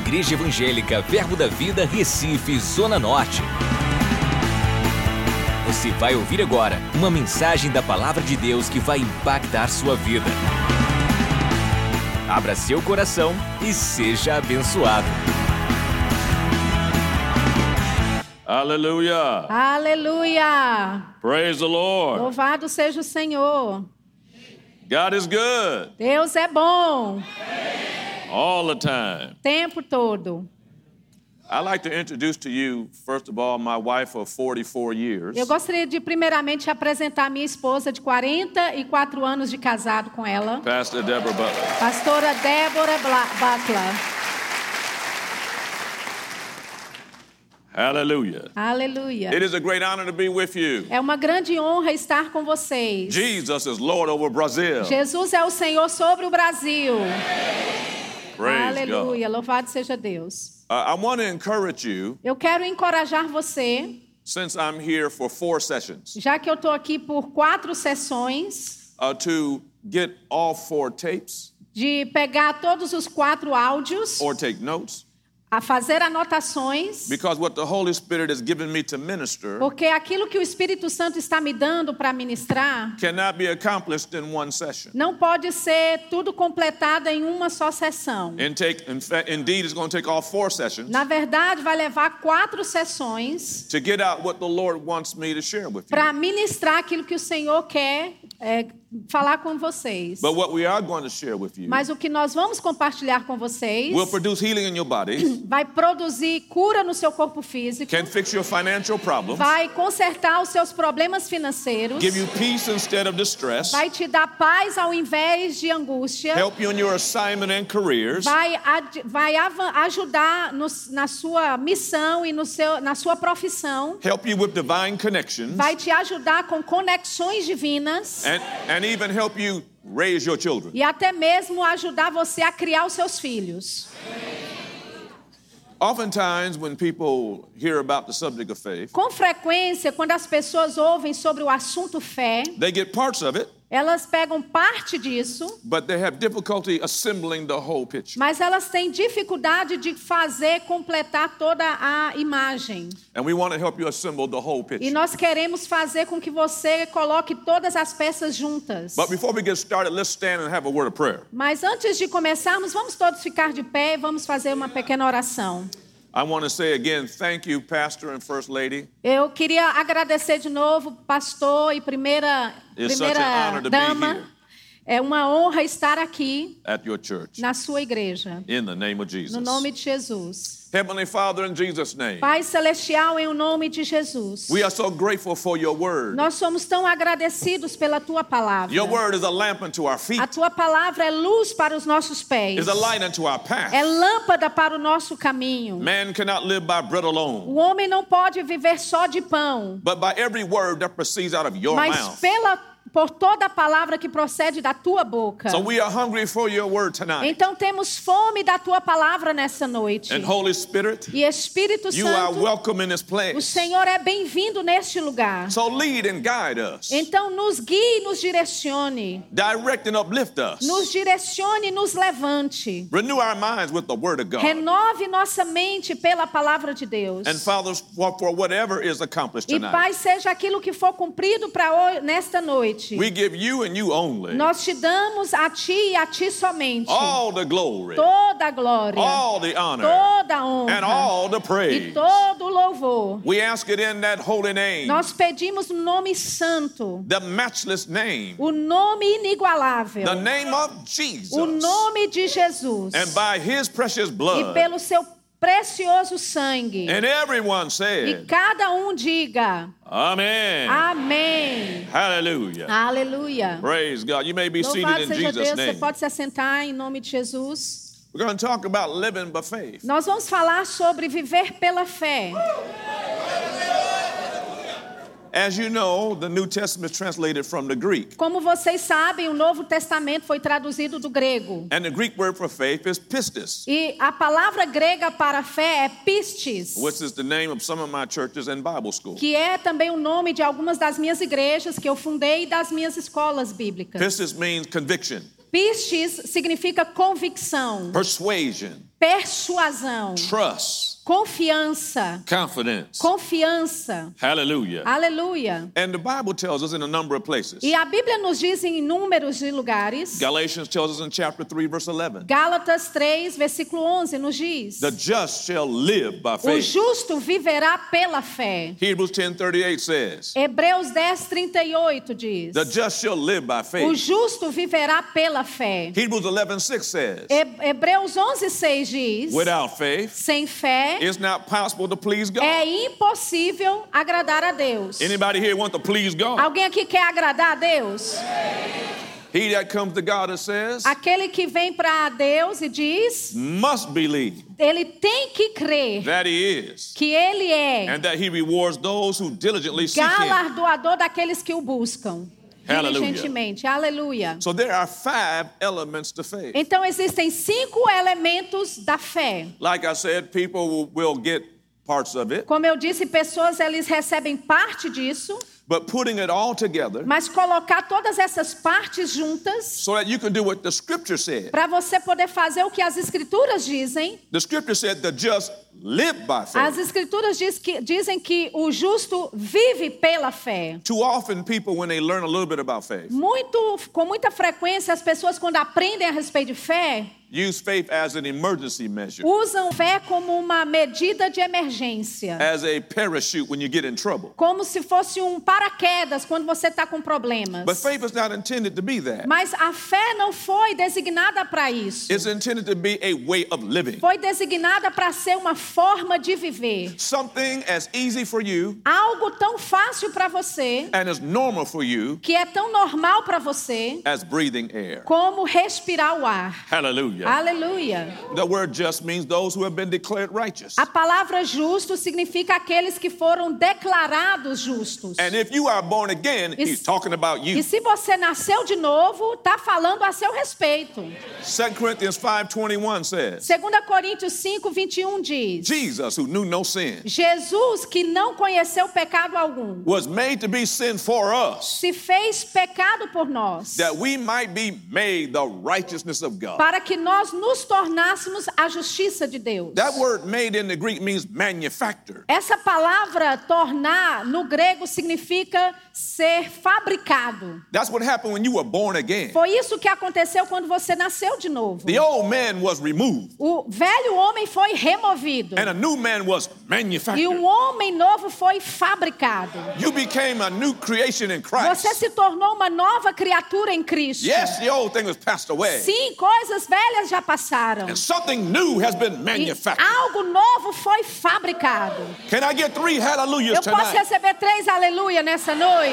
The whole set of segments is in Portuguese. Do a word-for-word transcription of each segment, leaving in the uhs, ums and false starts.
Igreja Evangélica Verbo da Vida, Recife, Zona Norte. Você vai ouvir agora uma mensagem da Palavra de Deus que vai impactar sua vida. Abra seu coração e seja abençoado. Aleluia. Aleluia. Praise the Lord. Louvado seja o Senhor. God is good. Deus é bom. All the time. Tempo todo. I'd like to introduce to you, first of all, my wife of forty-four years. Eu gostaria de primeiramente apresentar minha esposa de quarenta e quatro anos de casado com ela. Pastor Deborah Butler. Pastora Débora Bla- Butler. Hallelujah. Aleluia. It is a great honor to be with you. É uma grande honra estar com vocês. Jesus is Lord over Brazil. Jesus é o Senhor sobre o Brasil. Praise Aleluia. God. Louvado seja Deus. Uh, I want to encourage you, Eu quero encorajar você, since I'm here for four sessions, já que eu estou aqui por quatro sessões, uh, to get all four tapes de pegar todos os quatro áudios, or take notes, a fazer anotações, because what the Holy Spirit has given me to minister porque aquilo que o Espírito Santo está me dando para ministrar cannot be accomplished in one session. não pode ser tudo completado em uma só sessão. In take, in fact, indeed, it's going to take all four sessions Na verdade, vai levar quatro sessões to get out what the Lord wants me to share with you. para ministrar aquilo que o Senhor quer é, falar com vocês. But what we are going to share with you Mas o que nós vamos compartilhar com vocês will produce healing in your body, vai produzir cura no seu corpo físico, can fix your financial problems, vai consertar os seus problemas financeiros, give you peace instead of distress, vai te dar paz ao invés de angústia, help you in your assignment and careers, vai, ad, vai avan- ajudar no, na sua missão e no seu, na sua profissão, help you with divine connections, vai te ajudar com conexões divinas and, and even help you raise your children. e até mesmo ajudar você a criar os seus filhos. Oftentimes, when people hear about the subject of faith, Com frequência, quando as pessoas ouvem sobre o assunto fé, they get parts of it, elas pegam parte disso, but they have difficulty assembling the whole picture. mas elas têm dificuldade de fazer, completar toda a imagem. And we want to help you assemble the whole E picture. nós queremos fazer com que você coloque todas as peças juntas. But before we get started, let's stand and have a word of prayer. Mas antes de começarmos, vamos todos ficar de pé e vamos fazer uma pequena oração. I want to say again, thank you, Pastor and First Lady. Eu queria agradecer de novo, pastor e primeira, It's such an primeira honor to be dama. here. É uma honra estar aqui At your church, na sua igreja, in the name of Jesus. no nome de Jesus. Heavenly Father, in Jesus' name, Pai Celestial, em o nome de Jesus. we are so grateful for your word. Nós somos tão agradecidos pela tua palavra. Your word is a lamp unto our feet, A tua palavra é luz para os nossos pés. is a light unto our path. É lâmpada para o nosso caminho. Man cannot live by bread alone, O homem não pode viver só de pão, but by every word that proceeds out of your mas mouth. pela por toda a palavra que procede da tua boca. So we are hungry for your word tonight. Então temos fome da tua palavra nessa noite. And Holy Spirit, E Espírito you are Santo, welcome in this o place. Senhor é bem-vindo neste lugar. So lead and guide us. Então nos guie e nos direcione. Direct and uplift us. Nos direcione e nos levante. Renew our minds with the word of God. Renove nossa mente pela palavra de Deus. And Father, for for whatever is accomplished E tonight, Pai, seja aquilo que for cumprido para nesta noite. we give you and you only Nós te damos a ti e a ti somente all the glory, toda a glória, all the honor, toda a and honra all the e praise. todo o louvor. We ask it in that holy name, Nós pedimos no nome santo, the matchless name, o nome inigualável, the name of o Jesus. nome de Jesus, And by his precious e blood, pelo seu precioso sangue. and everyone E said, cada um diga, Amen. amém. Hallelujah. Aleluia. Praise God. You may be seated Louvado in seja Jesus' Deus, você name. pode se assentar em nome de Jesus. We're going to talk about living by faith. Nós vamos falar sobre viver pela fé. As you know, the New Testament is translated from the Greek. Como vocês sabem, o Novo Testamento foi traduzido do grego. And the Greek word for faith is pistis, E a palavra grega para fé é pistis, which is the name of some of my churches and Bible schools. que é também o nome de algumas das minhas igrejas que eu fundei e das minhas escolas bíblicas. Pistis means conviction. Pistis significa convicção, persuasion, persuasão, trust, confiança, confidence. confiança. Hallelujah. Aleluia. And the Bible tells us in a number of places. E a Bíblia nos diz em inúmeros de lugares. Galatians tells us in chapter three, verse eleven. Gálatas três, versículo onze nos diz: The just shall live by o faith. justo viverá pela fé. Hebrews ten thirty-eight says, Hebreus dez, trinta e oito diz: the just shall live by o faith. justo viverá pela fé. Hebrews eleven six says, He- Hebreus onze, seis diz: without faith, sem fé it's not possible to please God. é impossível agradar a Deus. Anybody here want to please God? Alguém aqui quer agradar a Deus? He that comes to God and says, Aquele que vem para Deus e diz, must believe ele tem que crer that he is, que ele é and that he rewards those who diligently seek him. galardoador daqueles que o buscam Hallelujah. diligentemente. Aleluia. So there are five elements to faith. Então existem cinco elementos da fé. Like I said, people will, will get parts of it, Como eu disse, pessoas eles recebem parte disso, but putting it all together mas colocar todas essas partes juntas so that you can do what the scripture said. para você poder fazer o que as escrituras dizem. The scripture said the just live by As faith. escrituras diz que, dizem que o justo vive pela fé. Too often people, when they learn a little bit about faith, Muito, com muita frequência, as pessoas quando aprendem a respeito de fé, use faith as an emergency measure, usam fé como uma medida de emergência. as a parachute when you get in trouble. Como se fosse um paraquedas quando você está com problemas. But faith is not intended to be that. Mas a fé não foi designada para isso. It's intended to be a way of living. Foi designada para ser uma forma de viver. Something as easy for you Algo tão fácil para você, and as normal for you que é tão normal para você, as breathing air. como respirar o ar. Hallelujah. Aleluia. The word just means those who have been declared righteous. A palavra justo significa aqueles que foram declarados justos. And if you are born again, E he's se- talking about E you. se você nasceu de novo, está falando a seu respeito. Second Corinthians five twenty-one says, Segunda Coríntios cinco, vinte e um diz: Jesus, who knew no sin, Jesus, que não conheceu pecado algum, was made to be sin for us, se fez pecado por nós, that we might be made the righteousness of God. para que nós nos tornássemos a justiça de Deus. That word made in the Greek means manufactured. Essa palavra tornar no grego significa ser fabricado. That's what happened when you were born again. Foi isso que aconteceu quando você nasceu de novo. The old man was removed O velho homem foi removido and a new man was e manufactured. um homem novo foi fabricado. You became a new creation in Christ. Você se tornou uma nova criatura em Cristo. Yes, the old thing has passed away, Sim, coisas velhas já passaram. and something new has been E manufactured. algo novo foi fabricado. Can I get three hallelujahs Eu posso tonight? receber três aleluia nessa noite?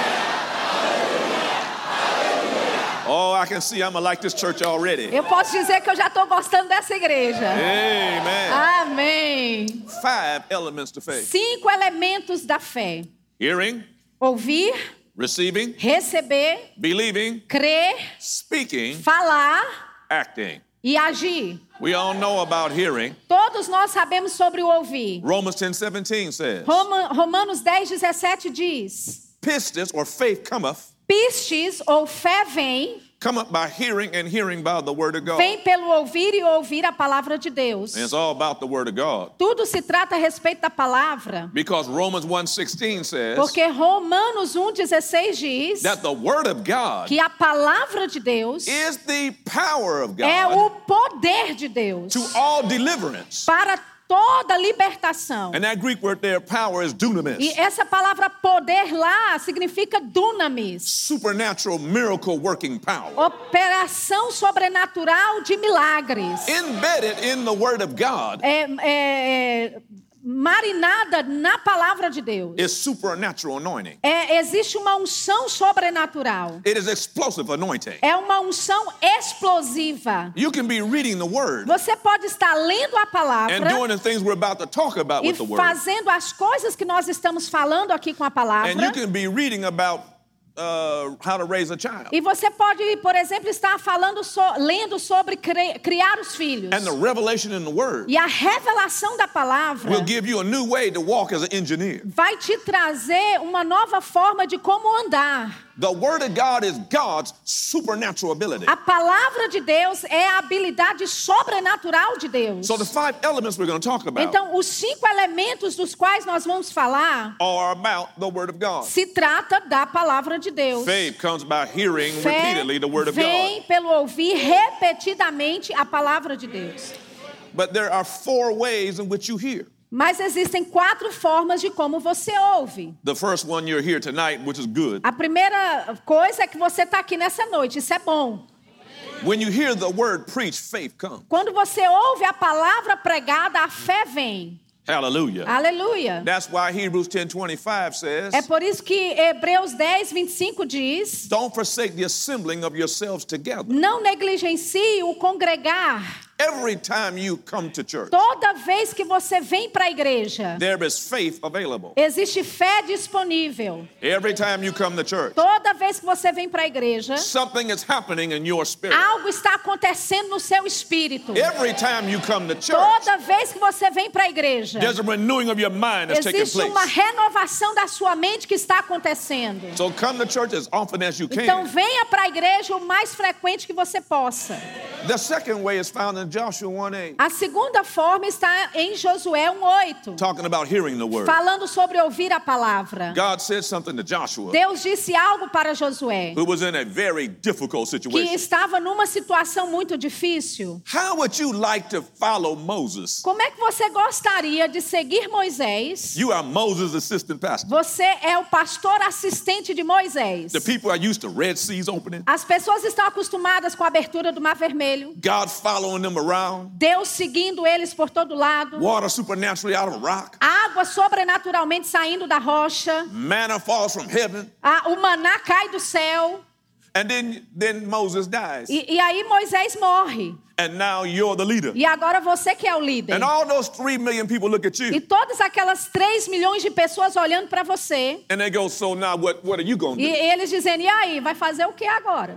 Oh, I can see I'm gonna like this church already. Eu posso dizer que eu já estou gostando dessa igreja. Amen. Amém. Five elements to faith: Cinco elementos da fé: hearing, ouvir, receiving, receber, believing, crer, speaking, falar acting. e agir. We all know about hearing. Todos nós sabemos sobre o ouvir. Romans ten seventeen says, Roma- Romanos dez, dezessete diz: pistis, or faith, cometh, pistes ou fé vem, cometh by hearing, and hearing by the word of God. vem pelo ouvir e ouvir a palavra de Deus. And it's all about the word of God. Tudo se trata a respeito da palavra. Because Romans one sixteen says Porque Romanos um, dezesseis diz that the word of God que a palavra de Deus is the power of é God o poder de Deus to all deliverance. para toda libertação. And that Greek word there, power, is dunamis. E essa palavra poder lá significa dunamis, Supernatural miracle working power. operação sobrenatural de milagres. Embedded in the word of God É, é, é, marinada na palavra de Deus. is supernatural anointing. É, existe uma unção sobrenatural. It is explosive anointing. É uma unção explosiva. You can be reading the word Você pode estar lendo a and palavra doing the things we're about to talk about e with the word. fazendo as coisas que nós estamos falando aqui com a palavra. And you can be reading about uh, how to raise a child. E você pode, por exemplo, estar falando, so, lendo sobre cri, criar os filhos. And the revelation in the word E a revelação da palavra will give you a new way to walk as an engineer. vai te trazer uma nova forma de como andar. The Word of God is God's supernatural ability. A palavra de Deus é a habilidade sobrenatural de Deus. So the five elements we're going to talk about Então, os cinco elementos dos quais nós vamos falar are about the Word of God. se trata da palavra de Deus. Faith comes by hearing Fé repeatedly the Word of vem God. pelo ouvir repetidamente a palavra de Deus. But there are four ways in which you hear. Mas existem quatro formas de como você ouve. The first one, you're here tonight, which is good. A primeira coisa é que você está aqui nessa noite, isso é bom. When you hear the word preached, faith comes. Quando você ouve a palavra pregada, a fé vem. Hallelujah. Aleluia. That's why Hebrews ten twenty-five says, É por isso que Hebreus dez, vinte e cinco diz: don't forsake the assembling of yourselves together. não negligencie o congregar. Every time you come to church, Toda vez que você vem para a igreja, there is faith available. existe fé disponível. Every time you come to church, Toda vez que você vem para a igreja, something is happening in your spirit. algo está acontecendo no seu espírito. Every time you come to church, Toda vez que você vem para a igreja, there's a renewing of your mind that's taking existe uma place. renovação da sua mente que está acontecendo. So come to church as often as you Então can. venha para a igreja o mais frequente que você possa. The second way is found in Joshua one eight, A segunda forma está em Josué um oito, talking about hearing the word. falando sobre ouvir a palavra. God said something to Joshua, Deus disse algo para Josué, who was in a very difficult que situation. estava numa situação muito difícil. How would you like to follow Moses? Como é que você gostaria de seguir Moisés? You are Moses' assistant pastor. Você é o pastor assistente de Moisés. The people are used to Red Seas opening, As pessoas estão acostumadas com a abertura do Mar Vermelho, God following them around, Deus seguindo eles por todo lado, water supernaturally out of a rock, água sobrenaturalmente saindo da rocha, manna falls from heaven, a, o maná cai do céu, and then, then Moses dies. e, e aí Moisés morre. And now you're the leader. E agora você que é o líder. And all those three million people look at E you, todas aquelas três milhões de pessoas olhando para você. and they go, so now what, what are you going to E do? eles dizendo, e aí, vai fazer o que agora?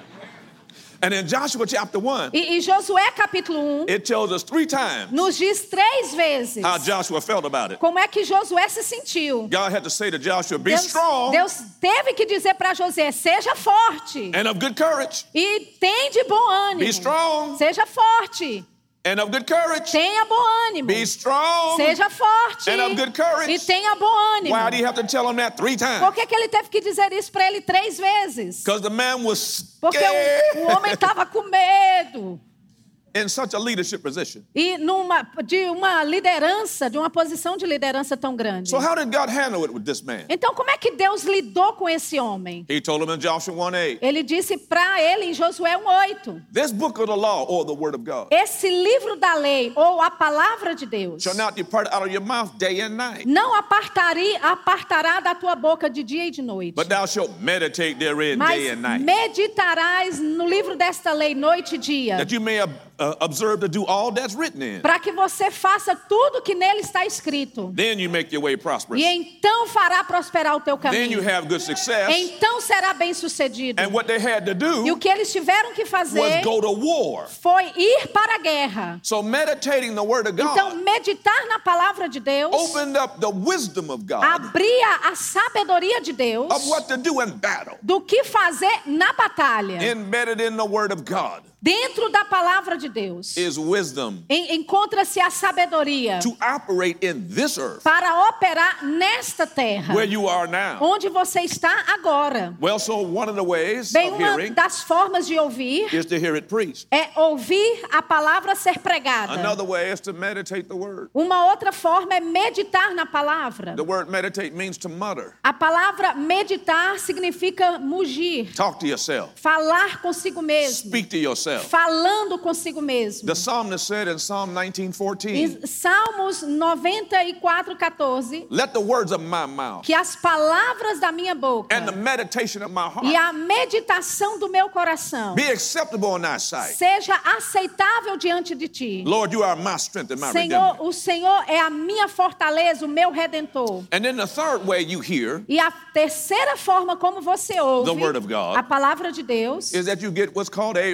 And in Joshua chapter one, E, e Josué capítulo um it tells us three times nos diz três vezes how Joshua felt about it. como é que Josué se sentiu. God had to say to Joshua, be Deus, strong Deus teve que dizer para Josué, seja forte and of good courage. e tem de bom ânimo. Be strong Seja forte, and of good courage. tenha bom ânimo. Be strong. Seja forte and of good courage. e tenha bom ânimo. Why do you have to tell him that three Por times? que, que ele teve que dizer isso para ele três vezes? Because the man was Porque scared o, o homem estava com medo. in such a leadership position. E numa, de uma liderança, de uma posição de liderança tão grande. So how did God handle it with this man? Então, como é que Deus lidou com esse homem? He told him in Joshua one eight, Ele disse para ele em Josué um oito: this book of the law or the word of God esse livro da lei, ou a palavra de Deus, shall not depart out of your mouth day and night, não apartari, apartará da tua boca de dia e de noite, but thou shalt meditate therein mas day and night, meditarás no livro desta lei noite e dia, that you may uh, observe to do all that's written in. para que você faça tudo que nele está escrito. Then you make your way prosperous. E então fará prosperar o teu Then you caminho. have good success. Então será bem sucedido. And what they had to E o do que eles tiveram que was fazer go to war. foi ir para a guerra. So meditating the word of Então, God meditar na palavra de Deus opened up the wisdom of God abria a sabedoria de Deus of what to do in battle. do que fazer na batalha. Embedded in the word of God Dentro da palavra de Deus is wisdom en- encontra-se a sabedoria to operate in this earth para operar nesta terra, where you are now. onde você está agora. Well, so one of the ways Bem, of uma hearing das formas de ouvir is to hear it preached. é ouvir a palavra ser pregada. Another way is to meditate the word. Uma outra forma é meditar na palavra. The word meditate means to mutter. A palavra meditar significa mugir, Talk to yourself. falar consigo mesmo, Speak to yourself. falando consigo mesmo. The psalmist said in Psalm nineteen fourteen, Em Salmos noventa e quatro, quatorze, let the words of my mouth que as palavras da minha boca and the meditation of my e heart a meditação do meu coração be acceptable in thy sight. seja aceitável diante de ti. Lord, you are my strength and my Senhor, redeemer. o Senhor é a minha fortaleza, o meu redentor. And then the third way you hear E a terceira forma como você ouve The word of God a palavra de Deus is that you get what's called a rhema.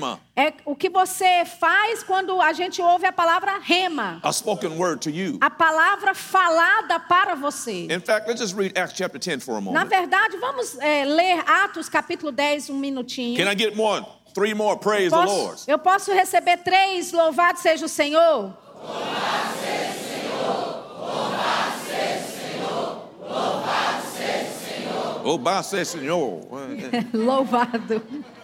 rhema, É o que você faz quando a gente ouve a palavra rema. a spoken word to you. A palavra falada para você. In fact, let's just read Acts chapter ten for a Na moment. verdade, vamos é, ler Atos capítulo dez, um minutinho. Can I get more? Three more, praise the Lord. Posso, eu posso receber três, louvado seja o Senhor? Oh, bá se Senhor. Louvado.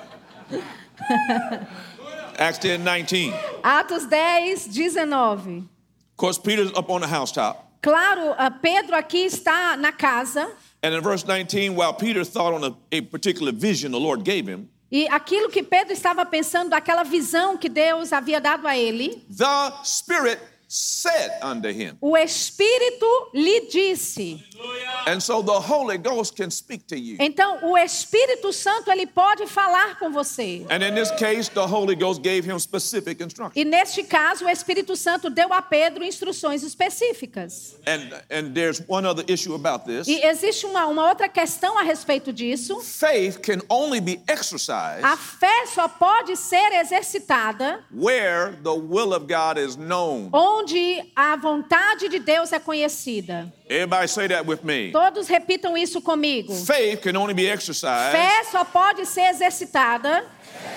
Acts ten nineteen. Atos dez, dezenove. Of course, Peter's up on the housetop. Claro, ah, Pedro aqui está na casa. And in verse nineteen, while Peter thought on a, a particular vision the Lord gave him, E aquilo que Pedro estava pensando, aquela visão que Deus havia dado a ele, the Spirit said unto him. o Espírito lhe disse. And so the Holy Ghost can speak to you. Então, o Espírito Santo, ele pode falar com você. And in this case, the Holy Ghost gave him specific instructions. E neste caso, o Espírito Santo deu a Pedro instruções específicas. And, and there's one other issue about this. E existe uma, uma outra questão a respeito disso. Faith can only be exercised A fé só pode ser exercitada where the will of God is known. onde a vontade de Deus é conhecida. Everybody say that with me. Todos repitam isso comigo. Faith can only be exercised Fé só pode ser exercitada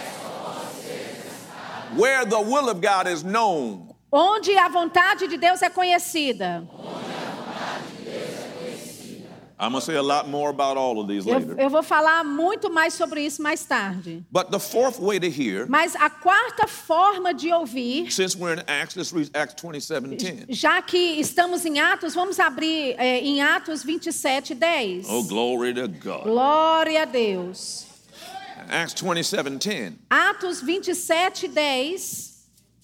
where the will of God is known. onde a vontade de Deus é conhecida. I'm going to say a lot more about all of these Eu, later. eu vou falar muito mais sobre isso mais tarde. But the fourth way to hear, Mas a quarta forma de ouvir, since we're in Acts, let's read Acts twenty-seven ten. já que estamos em Atos, vamos abrir é, em Atos vinte e sete, dez. Oh, glory to God. Glória a Deus. Acts twenty-seven ten. Atos vinte e sete, dez.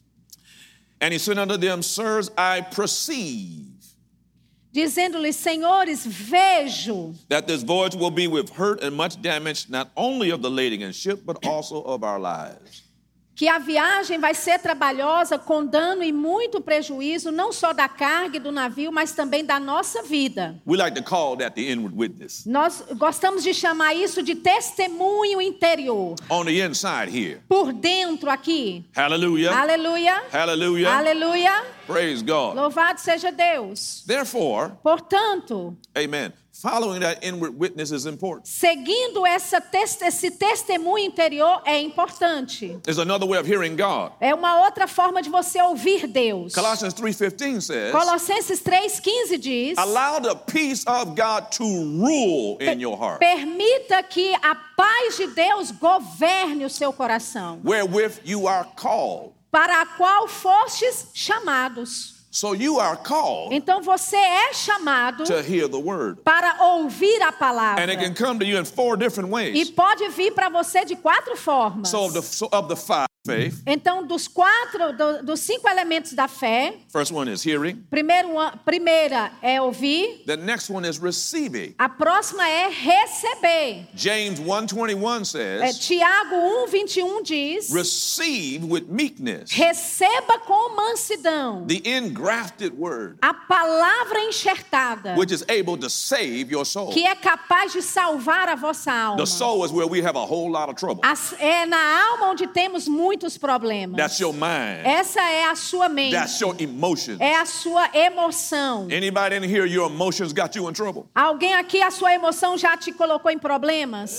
And he said unto them, Sirs, I perceive Dizendo-lhes, senhores, vejo that this voyage will be with hurt and much damage, not only of the lading and ship, but also of our lives. que a viagem vai ser trabalhosa, com dano e muito prejuízo, não só da carga e do navio, mas também da nossa vida. We like to call that the inward witness. Nós gostamos de chamar isso de testemunho interior. On the inside here. Por dentro aqui. Hallelujah. Aleluia. Hallelujah. Aleluia. Praise God. Louvado seja Deus. Therefore, Portanto, amen. Following that inward witness is important. seguindo essa tes- esse testemunho interior é importante. There's another way of hearing God. É uma outra forma de você ouvir Deus. Colossians three fifteen says, Colossenses três, quinze diz: allow the peace of God to rule in your heart, permita que a paz de Deus governe o seu coração, wherewith you are called. para a qual fostes chamados. So you are called Então você é chamado to hear the word. para ouvir a palavra. And it can come to you in four different E ways. pode vir para você de quatro formas. So of the, so of the five, faith, Então, dos quatro, do- dos cinco elementos da fé, first one is hearing. primeiro, a primeira é ouvir, The next one is receiving. a próxima é receber. James one twenty-one É, says, Tiago um, vinte e um diz: receive with meekness receba com mansidão the engrafted word, a palavra enxertada, which is able to save your soul. que é capaz de salvar a vossa alma. The soul is where we have a whole lot of trouble. As- é na alma onde temos muitos problemas. That's your mind. Essa é a sua mente. That's your emotion. É a sua emoção. Anybody in here, your emotions got you in trouble? Alguém aqui, a sua emoção já te colocou em problemas?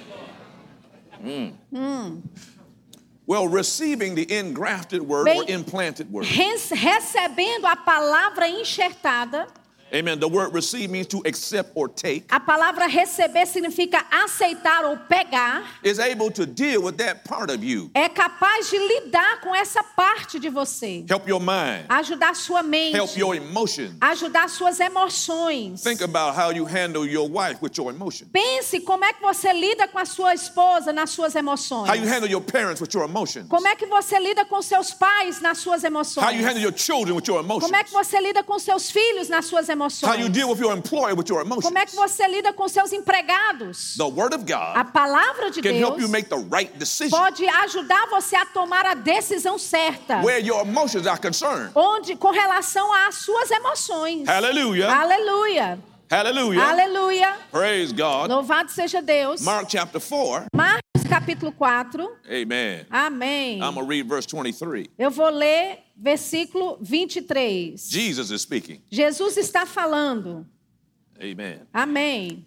Well, receiving the engrafted word Bem- or implanted word. Res- recebendo a palavra enxertada. Amen. The word receive means to accept or take. A palavra receber significa aceitar ou pegar. Is able to deal with that part of you. É capaz de lidar com essa parte de você. Help your mind. Ajudar sua mente. Help your emotions. Ajudar suas emoções. Think about how you handle your wife with your emotions. Pense como é que você lida com a sua esposa nas suas emoções. How you handle your parents with your emotions. Como é que você lida com seus pais nas suas emoções? How you handle your children with your emotions. Como é que você lida com seus filhos nas suas emoções? How you deal with your employer with your emotions. Como é que você lida com seus empregados? The word of A God palavra de can help you Deus make the right decision pode ajudar você a tomar a decisão certa. where your emotions are concerned. Onde, com relação às suas emoções. Hallelujah. Aleluia. Hallelujah. Aleluia. Praise God. Louvado seja Deus. Mark chapter four. Marcos capítulo quatro. Amen. Amém. I'm going to read verse twenty-three. Eu vou ler versículo vinte e três. Jesus is speaking. Jesus está falando. Amen. Amém.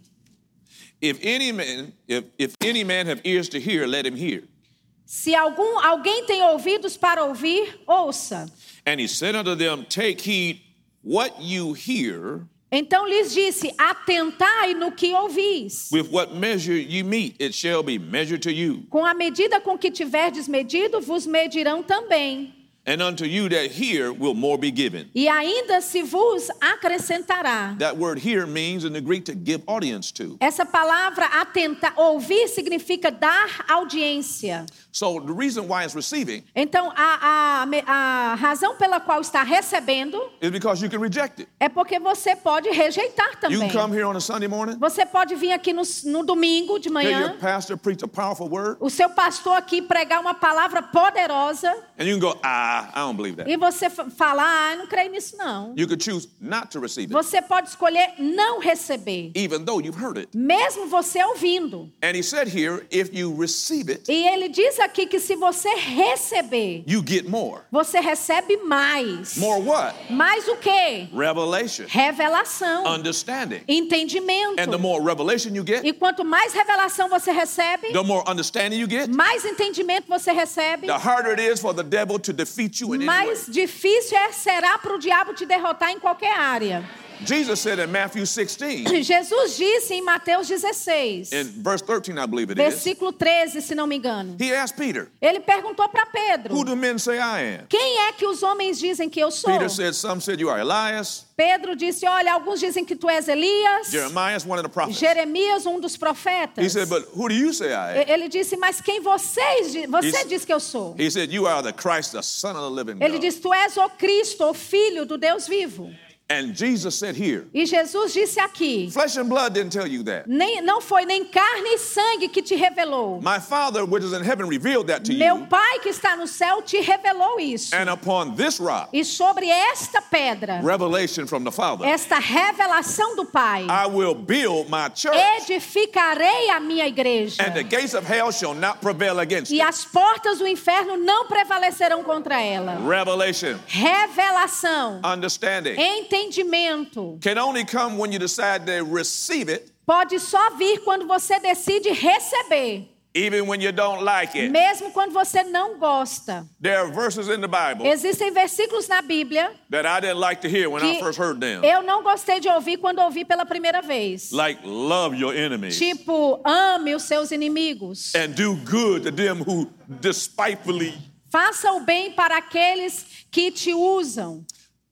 If any man, if, if any man have ears to hear, let him hear. Se algum, alguém tem ouvidos para ouvir, ouça. And he said unto them, take heed what you hear, Então lhes disse, atentai no que ouvis. with what measure you meet, it shall be measured to you. Com a medida com que tiverdes medido, vos medirão também. And unto you that hear will more be given. E ainda se vos acrescentará. That word hear means in the Greek to give audience to. Essa palavra atentar, ouvir significa dar audiência. So the reason why it's receiving Então a, a, a razão pela qual está recebendo is because you can reject it. é porque você pode rejeitar You também. can come here on a Sunday morning, Você pode vir aqui no, no domingo de hear your manhã, pastor preach a powerful word, o seu pastor aqui pregar uma palavra poderosa and you can go, ah, I don't believe that. e você fa- falar, ah, eu não creio nisso não. You could choose not to receive it, Você pode escolher não receber, even though you've heard it. mesmo você ouvindo. And he said here, if you receive it, E ele diz aqui que se você receber, you get more. você recebe mais. More what? Mais o quê? Revelation, Revelação, understanding. entendimento. And the more revelation you get, E quanto mais revelação você recebe, the more understanding you get, mais entendimento você recebe, the harder it is for the devil to defeat you in any way. mais difícil é, será para o diabo te derrotar em qualquer área. Jesus said in Matthew sixteen, Jesus disse em Mateus dezesseis, in verse thirteen, I believe it is, versículo treze, se não me engano. he asked Peter, Ele perguntou para Pedro, who do men say I am? quem é que os homens dizem que eu sou? Peter said, some said you are Elias, Pedro disse, olha, alguns dizem que tu és Elias, Jeremiah is one of the prophets. Jeremias, um dos profetas. He said, but who do you say I am? Ele disse, mas quem vocês, di- você He's- diz que eu sou? He said, you are the Christ, the Son of the living Ele God. disse, tu és o Cristo, o Filho do Deus vivo. And Jesus said here, E Jesus disse aqui, flesh and blood didn't tell you that. nem, não foi nem carne e sangue que te revelou. My Father, which is in heaven, revealed that to Meu you. Pai que está no céu te revelou isso. And upon this rock, E sobre esta pedra, revelation from the Father, esta revelação do Pai, I will build my church, edificarei a minha igreja. and the gates of hell shall not prevail against E it. as portas do inferno não prevalecerão contra ela. Revelation, Revelação, understanding, entendimento, can only come when you decide to receive it, pode só vir quando você decide receber, even when you don't like it. mesmo quando você não gosta. There are verses in the Bible Existem versículos na Bíblia that I didn't like to hear when I que first heard them. eu não gostei de ouvir quando ouvi pela primeira vez. Like, love your enemies Tipo, ame os seus inimigos. and do good to them who despitefully. Faça o bem para aqueles que te usam.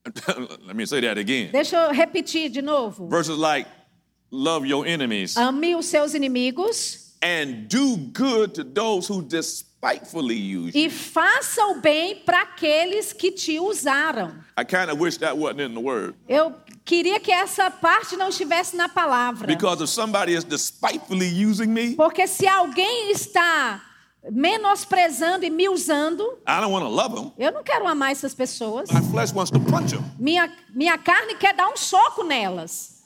Let me say that again. Deixa eu repetir de novo. Verses like, love your enemies Ame os seus inimigos and do good to those who despitefully use you. e faça o bem para aqueles que te usaram. I kind of wish that wasn't in the word. Eu queria que essa parte não estivesse na palavra. Because if somebody is despitefully using me, Porque se alguém está menosprezando e me usando, I don't want to love them. eu não quero amar essas pessoas. My flesh wants to punch them. Minha, minha carne quer dar um soco nelas.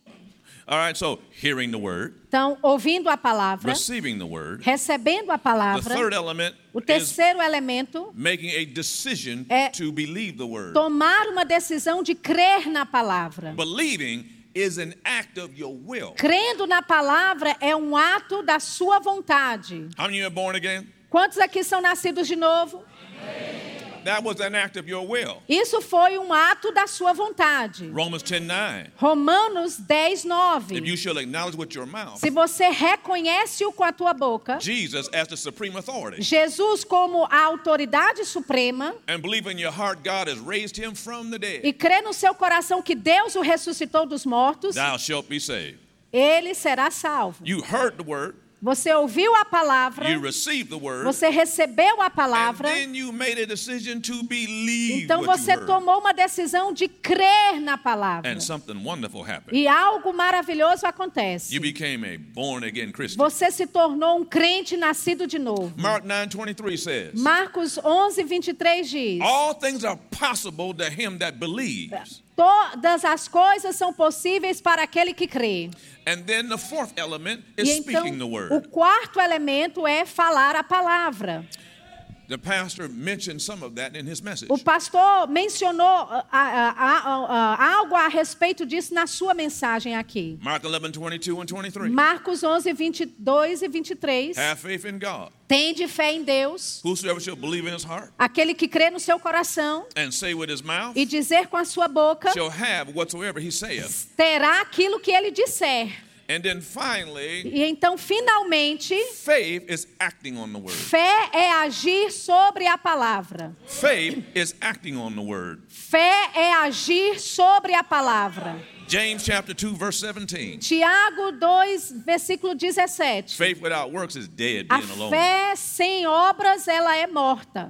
All right, so hearing the word, Então, ouvindo a palavra, receiving the word. recebendo a The palavra, third element o is terceiro elemento making a decision É to believe the word. tomar uma decisão de crer na palavra. Believing is an act of your will. Crendo na palavra é um ato da sua vontade. How many of you are born again? Quantos aqui são nascidos de novo? That was an act of your will. Isso foi um ato da sua vontade. Romans ten nine. Romanos dez, nove. If you shall acknowledge with your mouth Se você reconhece-o com a tua boca, Jesus as the supreme authority Jesus como a autoridade suprema, and believe in your heart God has raised him from the dead, e crê no seu coração que Deus o ressuscitou dos mortos, thou shalt be saved. ele será salvo. You heard the word, Você ouviu a palavra, you received the word, você recebeu a and palavra, then you made a decision to believe então what you você heard. tomou uma decisão de crer na palavra. And something wonderful happened. E algo maravilhoso acontece. You became a born again Christian. Você se tornou um crente nascido de novo. Mark nine twenty-three says, Marcos onze, vinte e três diz: all things are possible to him that believes. Todas as coisas são possíveis para aquele que crê. And then the fourth element is E então, speaking the o word. quarto elemento é falar a palavra. The pastor mentioned some of that in his message. O pastor mencionou ah, ah, ah, ah, algo a respeito disso na sua mensagem aqui. Mark eleven, twenty-two and twenty-three. Marcos onze, vinte e dois e vinte e três. Have faith in God. Tende fé em Deus, Whosoever shall believe in his heart aquele que crê no seu coração and say with his mouth e dizer com a sua boca, shall have whatsoever he saith. terá aquilo que ele disser. And then finally, E então, finalmente, faith is acting on the word. fé é agir sobre a palavra. Faith is acting on the word. Fé é agir sobre a palavra. James chapter two verse seventeen. Tiago dois, versículo dezessete. Faith without works is dead, A being alone. fé sem obras, ela é morta.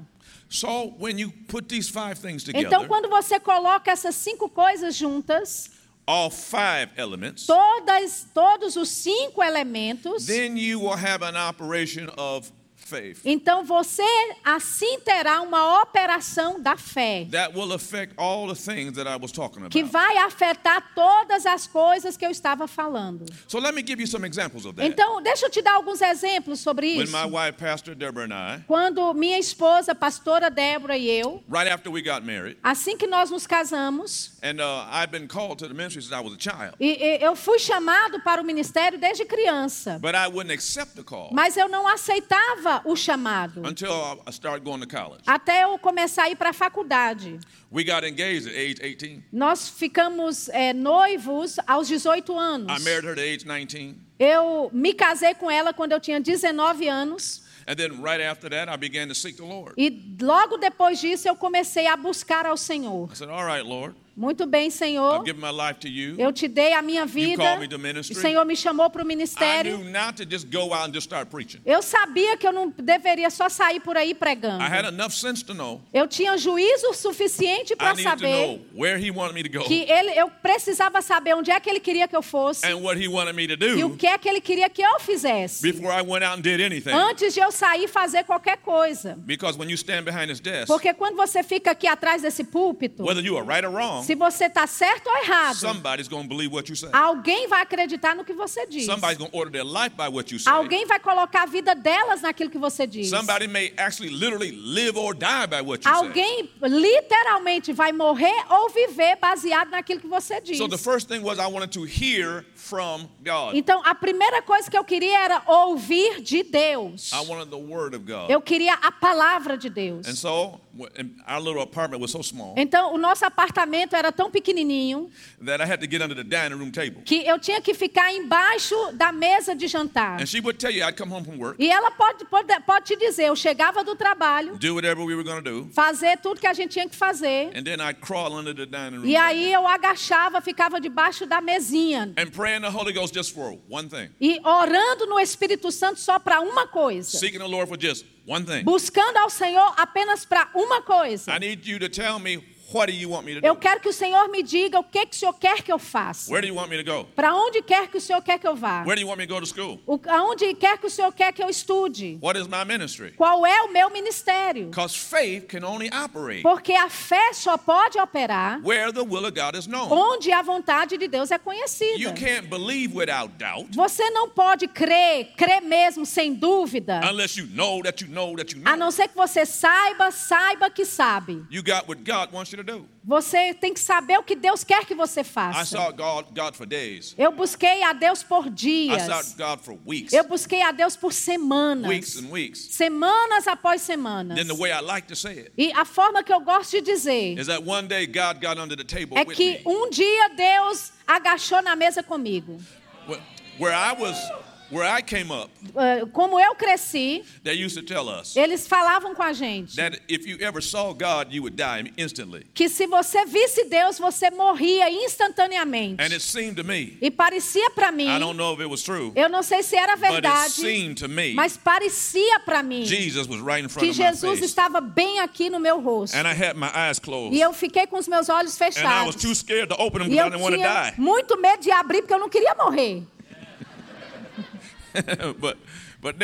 So when you put these five things Então, together, quando você coloca essas cinco coisas juntas, all five elements, todas, todos os cinco elementos, then you will have an operation of faith então você assim terá uma operação da fé, that will affect all the things that I was talking que about. vai afetar todas as coisas que eu estava falando. So let me give you some examples of that. Então, deixa eu te dar alguns exemplos sobre When isso. my wife, Pastor Deborah, and I, Quando minha esposa, pastora Débora, e eu, right after we got married, assim que nós nos casamos, and uh, I've been called to the ministry since I was a child, e, e eu fui chamado para o ministério desde criança, but I wouldn't accept the call mas eu não aceitava o chamado, until I started going to college. até eu começar a ir para a faculdade. We got engaged at age eighteen. Nós ficamos é, noivos aos dezoito anos. I married her at age nineteen. Eu me casei com ela quando eu tinha dezenove anos. And then right after that, I began to seek the Lord. E logo depois disso eu comecei a buscar ao Senhor. I said, all right, Lord, Muito bem, Senhor. I've given my life to you. Eu te dei a minha vida. called me to O ministry. Senhor me chamou para o I ministério. knew not to just go out and just start preaching. Eu sabia que eu não deveria só sair por aí pregando. I had enough sense to know Eu tinha juízo suficiente I para needed to saber know where he wanted me to go que ele, eu precisava saber onde é que ele queria que eu fosse and what he wanted me to e o do que é que ele queria que eu fizesse before I went out and did anything. antes de eu sair e fazer qualquer coisa. Because when you stand behind this desk, Porque quando você fica aqui atrás desse púlpito, whether you are right or wrong, se você está certo ou errado, somebody's going to believe what you say. alguém vai acreditar no que você diz. Somebody's going to order their life by what you say. Alguém vai colocar a vida delas naquilo que você diz. Somebody may actually literally live or die by what you say. Alguém literalmente vai morrer ou viver baseado naquilo que você diz. So the first thing was I wanted to hear from God. Então, a primeira coisa que eu queria era ouvir de Deus. I wanted the word of God. Eu queria a palavra de Deus. And so and our little apartment was so small Então, o nosso apartamento era tão pequenininho that I had to get under the dining room table. que eu tinha que ficar embaixo da mesa de jantar. And she would tell you I'd come home from work, E ela pode, pode, pode te dizer, eu chegava do trabalho, do whatever we were going to do, fazer tudo que a gente tinha que fazer. and then I'd crawl under the dining room E table aí eu agachava, ficava debaixo da mesinha. and pray in the Holy Ghost just for one thing. E orando no Espírito Santo só para uma coisa. Seeking the Lord for just one thing. Buscando ao Senhor apenas para uma coisa. I need you to tell me, what do you want me to Eu do? quero que o Senhor me diga o que, que o Senhor quer que eu faça. Where do you want me to go? Para onde quer que o Senhor quer que eu vá. Where do you want me to go to school? O, aonde quer que o Senhor quer que eu estude. What is my ministry? Qual é o meu ministério? Because faith can only operate Porque a fé só pode operar where the will of God is known. onde a vontade de Deus é conhecida. You can't believe without doubt Você não pode crer, crer mesmo sem dúvida, unless you know that you know that you a know. não ser que você saiba, saiba que sabe. You got what God wants you to do. Você tem que saber o que Deus quer que você I faça. sought God, God for days. Eu busquei a Deus por I dias. sought God for weeks. Eu busquei a Deus por semanas. Weeks and weeks. Semanas após semanas. Then the way I like to say it E a forma que eu gosto de dizer is that one day God got under the table é with que me. um dia Deus agachou na mesa comigo. Wh- Where I was, where I came up, Uh, Como eu cresci, they used to tell us eles falavam com a gente that if you ever saw God, you would die instantly. que se você visse Deus, você morria instantaneamente. And it seemed to me, E parecia para mim, I don't know if it was true, eu não sei se era but it verdade, seemed to me mas parecia para mim Jesus was right in front que of my Jesus face. estava bem aqui no meu rosto. And I had my eyes closed. E eu fiquei com os meus olhos And I was fechados. too scared to open them E because I eu didn't want to tinha die. muito medo de abrir porque eu não queria morrer. but but then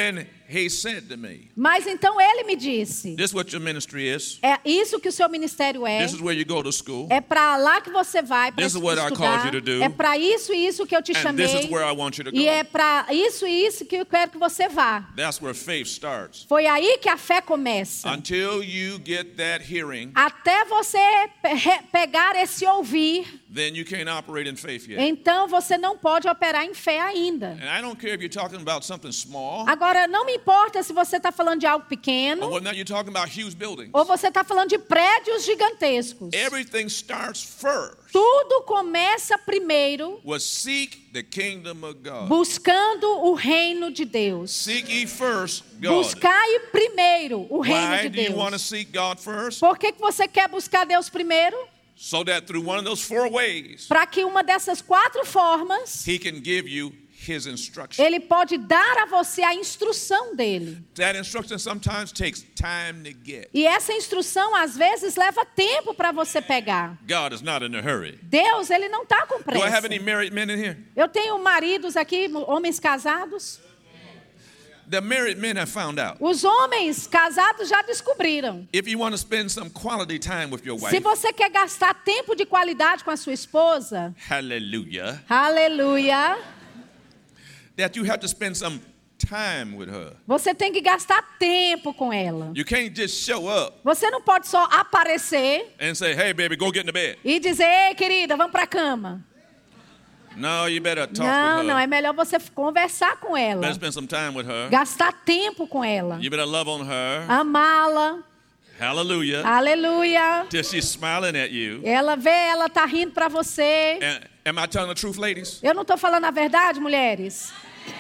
he said to me, Mas então ele me disse, this is what your ministry is. é isso que o seu ministério é. This is where you go to school. É para lá que você vai para This is what I estudar. called you to do. É para isso e isso que eu te And chamei. this is where I want you to go. E é para isso e isso que eu quero que você vá. That's where faith starts. Foi aí que a fé começa. Until you get that hearing, Até você pe- pegar esse ouvir, then you can't operate in faith yet. então você não pode operar em fé ainda. And I don't care if you're talking about something small, Agora, não me importa se você está falando de algo or pequeno whether or not you're talking about huge buildings. ou você está falando de prédios gigantescos. Everything starts first Tudo começa primeiro with seek the kingdom of God. buscando o reino de Deus. Seek ye first God. Buscai primeiro o reino Why de do you want to Deus. seek God first? Por que, que você quer buscar Deus primeiro? So that through one of those four ways, Para que uma dessas quatro formas, He can give you His instruction. Ele pode dar a você a instrução dele. That instruction sometimes takes time to get. E essa instrução, às vezes, leva tempo para você pegar. God is not in a hurry. Deus, Ele não está com Do I have pressa. any married men in here? Eu tenho maridos aqui, homens casados. The married men have found out. Os homens casados já descobriram. If you want to spend some quality time with your Se wife, você quer gastar tempo de qualidade com a sua esposa, hallelujah, aleluia, that you have to spend some time with her. você tem que gastar tempo com ela. You can't just show up Você não pode só aparecer and say, hey, baby, go get in the bed. e dizer, ei, querida, vamos para a cama. No, you better talk Não, with não, her. é melhor você conversar com ela. Better spend some time with her. Gastar tempo com ela. You better love on her. Amá-la. Hallelujah. Aleluia. Till she's smiling at you. Ela vê, ela tá rindo para você. And, am I telling the truth, ladies? Eu não estou falando a verdade, mulheres?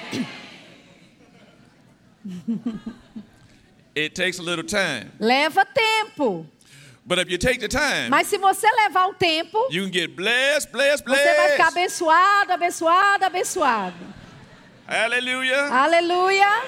It takes a little time. Leva tempo. But if you take the time, Mas se você levar o tempo, you can get blessed, blessed, você vai ficar blessed. abençoado, abençoado, abençoado. Hallelujah. Aleluia.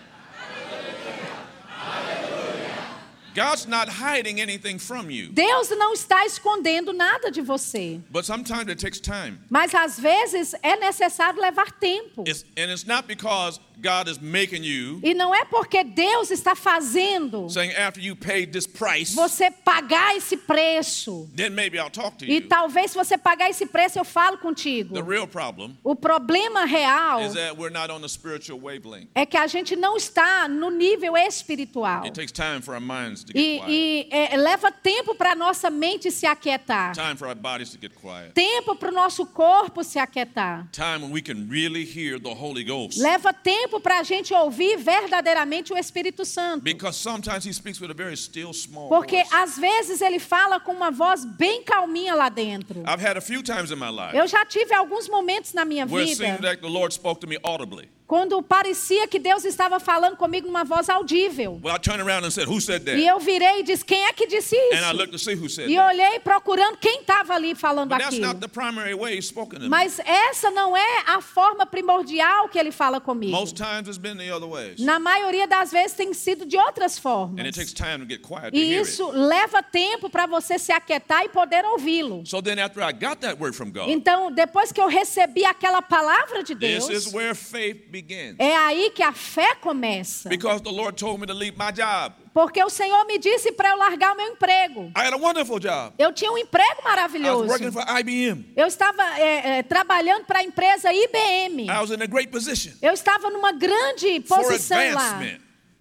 God's not hiding anything from you. Deus não está escondendo nada de você. But sometimes it takes time. Mas às vezes é necessário levar tempo. It's, and it's not because God is making you, E não é porque Deus está fazendo saying after you paid this price, você pagar esse preço. then maybe I'll talk to E you. talvez se você pagar esse preço eu falo contigo. The real problem O problema real is that we're not on the spiritual wavelength. é que a gente não está no nível espiritual. It takes time for our minds to get E, quiet. e é, leva tempo para a nossa mente se aquietar. Time for our bodies to get quiet. Tempo para o nosso corpo se aquietar. Time when we can really hear the Holy Ghost. Leva tempo para a gente ouvir verdadeiramente o Espírito Santo. Because sometimes He speaks with a very still, small Porque voice. às vezes ele fala com uma voz bem calminha lá dentro. I've had a few times in my life Eu já tive alguns momentos na minha where it seemed vida like the Lord spoke to me audibly. quando parecia que Deus estava falando comigo numa voz audível. Well, I turned around and said, who said that? E eu virei e disse, quem é que disse And I isso? looked to see who said E that. olhei procurando quem estava ali falando But that's aquilo. not the primary way He's spoken to me. Mas essa não é a forma primordial que ele fala comigo. Most times it's been the other ways. Na maioria das vezes tem sido de outras formas. And it takes time to get quiet to E hear isso it. leva tempo para você se aquietar e poder ouvi-lo. So then after I got that word from God, Então, depois que eu recebi aquela palavra de this Deus, is where faith begins. é aí que a fé começa. Because the Lord told me to leave my job. Porque o Senhor me disse para eu largar o meu emprego. I had a wonderful job. Eu tinha um emprego I was maravilhoso. working for I B M. Eu estava é, é, trabalhando para a empresa I B M. I was in a great position Eu estava numa grande for posição lá, advancement.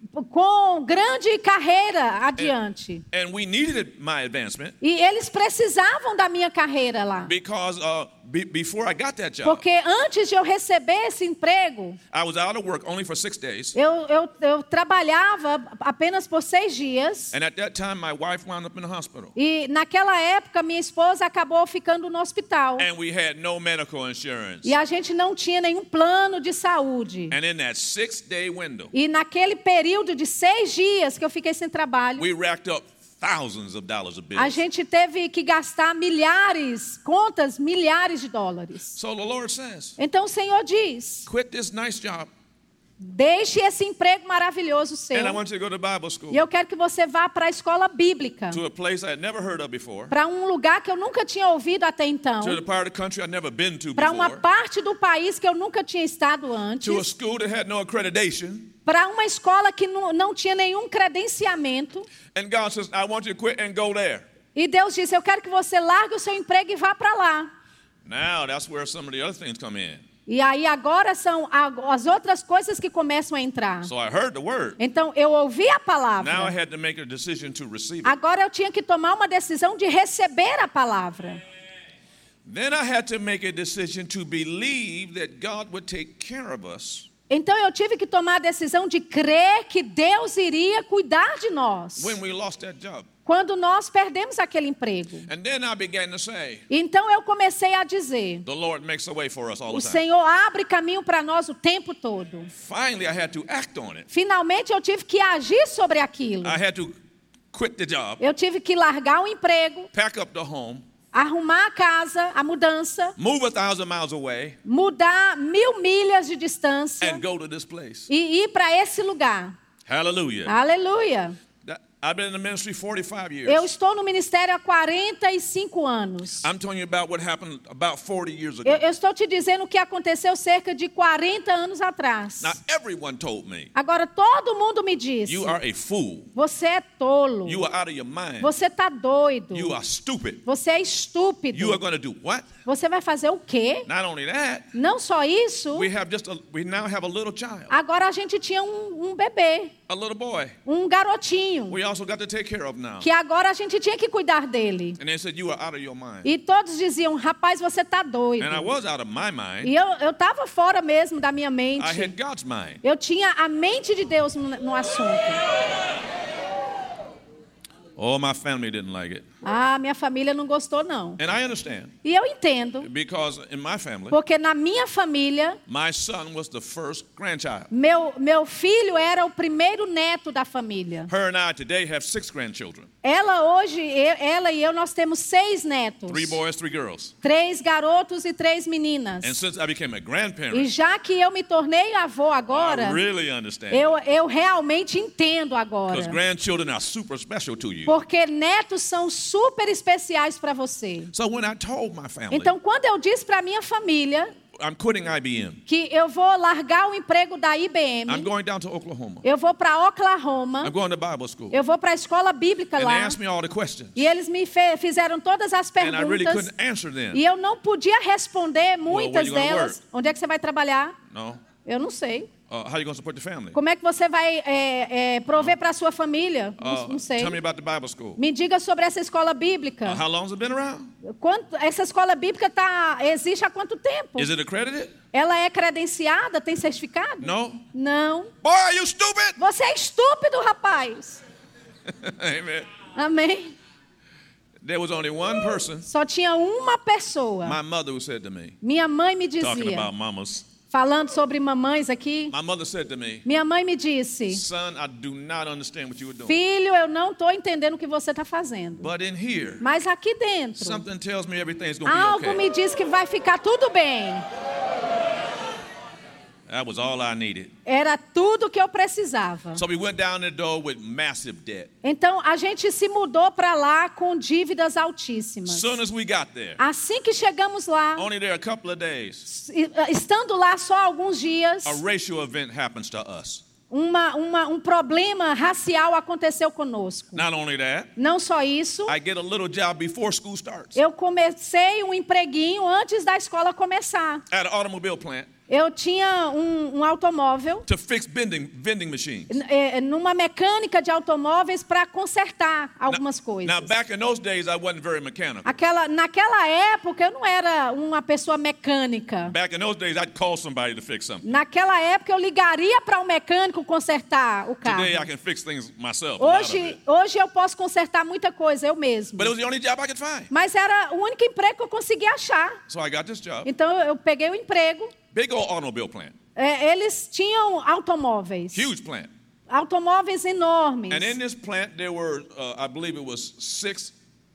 com grande carreira adiante. And we needed my advancement E eles precisavam da minha carreira lá. because uh, be, before I got that job, Porque antes de eu receber esse emprego, I was out of work only for six days. eu, eu, eu trabalhava apenas por seis dias. And at that time, my wife wound up in the hospital. E naquela época, minha esposa acabou ficando no hospital. And we had no medical insurance. E a gente não tinha nenhum plano de saúde. And in that six-day window, E naquele período de seis dias que eu fiquei sem trabalho, we racked up thousands of dollars of a bills. gente teve que gastar milhares, contas, milhares de dólares. So the Lord says, Então o Senhor diz, quit this nice job Deixe esse emprego maravilhoso seu. And I want you to go to Bible school. E eu quero que você vá para a escola bíblica. To a place I had never heard of before. Para um lugar que eu nunca tinha ouvido até então. To a part of the country I'd never been to Para uma before. parte do país que eu nunca tinha estado antes. To a school that had no accreditation. Para uma escola que não, não tinha nenhum credenciamento. And God says, I want you to quit and go there. E Deus disse, eu quero que você largue o seu emprego e vá para lá. Now that's where some of the other things come in. E aí agora são as outras coisas que começam a entrar. So I heard the word. Então eu ouvi a palavra. Now I had to make a decision to receive it. Agora eu tinha que tomar uma decisão de receber a palavra. Then I had to make a decision to believe that God would take care of us. Então eu tive que tomar a decisão de crer que Deus iria cuidar de nós. When we lost that job. Quando nós perdemos aquele emprego. And then I began to say, então eu comecei a dizer, the Lord makes a way for us all the o time. Senhor abre caminho para nós o tempo todo. Finally, I had to act on it. Finalmente eu tive que agir sobre aquilo. I had to quit the job. Eu tive que largar o emprego. Pack up the home. Arrumar a casa, a mudança. Move a thousand miles away. Mudar mil milhas de distância. And go to this place. E ir para esse lugar. Hallelujah. Aleluia. I've been in the ministry forty-five years. Eu estou no ministério há quarenta e cinco anos. I'm telling you about what happened about forty years ago. Eu, eu estou te dizendo o que aconteceu cerca de quarenta anos atrás. Now everyone told me. Agora todo mundo me disse. You are a fool. Você é tolo. You are out of your mind. Você está doido. You are stupid. Você é estúpido. You are going to do what? Você vai fazer o quê? Not only that. Não só isso. We have just a, we now have a little child. Agora a gente tinha um, um bebê. A little boy. Um garotinho. We also got to take care of now. Que agora a gente tinha que cuidar dele. And they said you are out of your mind. E todos diziam, rapaz, você está doido. And I was out of my mind. E eu eu estava fora mesmo da minha mente. I had God's mind. Eu tinha a mente de Deus no, no assunto. Oh, my family didn't like it. Ah, minha família não gostou não. And I understand. E eu entendo. Because in my family, porque na minha família, my son was the first grandchild. Meu meu filho era o primeiro neto da família. Her and I today have six grandchildren. Ela hoje, eu, ela e eu, nós temos seis netos. Three boys, three girls. Três garotos e três meninas. And since I became a grandparent, e já que eu me tornei avô agora, I really understand. Eu eu realmente entendo agora. Because grandchildren are super special to you. Porque netos são super especiais para você. So when I told my family, então quando eu disse para minha família, I'm quitting I B M. Que eu vou largar o emprego da I B M. I'm going down to Oklahoma. Eu vou para Oklahoma. I'm going to Bible school. Eu vou para a escola bíblica And lá. they asked me all the questions. E eles me fizeram todas as perguntas. And I really couldn't answer them. E eu não podia responder muitas well, delas. Onde é que você vai trabalhar? No. Eu não sei. Uh, how are you going to support the family? Como é que você vai é, é, prover para a sua família? Uh, não, não sei. Tell me about the Bible school. Me diga sobre essa escola bíblica. Uh, how long has it been around? Quanto, essa escola bíblica tá, existe há quanto tempo? Is it accredited? Ela é credenciada? Tem certificado? No. Não. Boy, are you stupid? Você é estúpido, rapaz. Amen. Amém. There was only one person. Só tinha uma pessoa. My mother who said to me. Minha mãe me dizia. Talking about mamas. Falando sobre mamães aqui. My mother said to me, minha mãe me disse, Son, I do not understand what you were doing. Filho, eu não estou entendendo o que você está fazendo. But in here, mas aqui dentro, something tells me everything's gonna algo be okay. me diz que vai ficar tudo bem. That was all I needed. Era tudo que eu precisava. So we went down the door with massive debt. Então a gente se mudou para lá com dívidas altíssimas. Soon as we got there, assim que chegamos lá, only there a couple of days, estando lá só alguns dias, a racial event happens to us. Uma, uma, um problema racial aconteceu conosco. Not only that, não só isso, I get a little job before school starts. Eu comecei um empreguinho antes da escola começar. At an automobile plant. Eu tinha um, um automóvel to fix vending, vending machines. É, numa mecânica de automóveis para consertar algumas now, coisas. Now back in those days I wasn't very mechanical. Aquela, naquela época eu não era uma pessoa mecânica. Back in those days I'd call somebody to fix something. Naquela época eu ligaria para um mecânico consertar o carro. Today I can fix things myself. Hoje, hoje eu posso consertar muita coisa eu mesmo. But it was the only job I could find. Mas era o único emprego que eu conseguia achar. So I got this job. Então eu peguei o emprego. Big old automobile plant. É, eles tinham automóveis. Huge plant. Automóveis enormes. And in this plant there were, uh, I believe it was six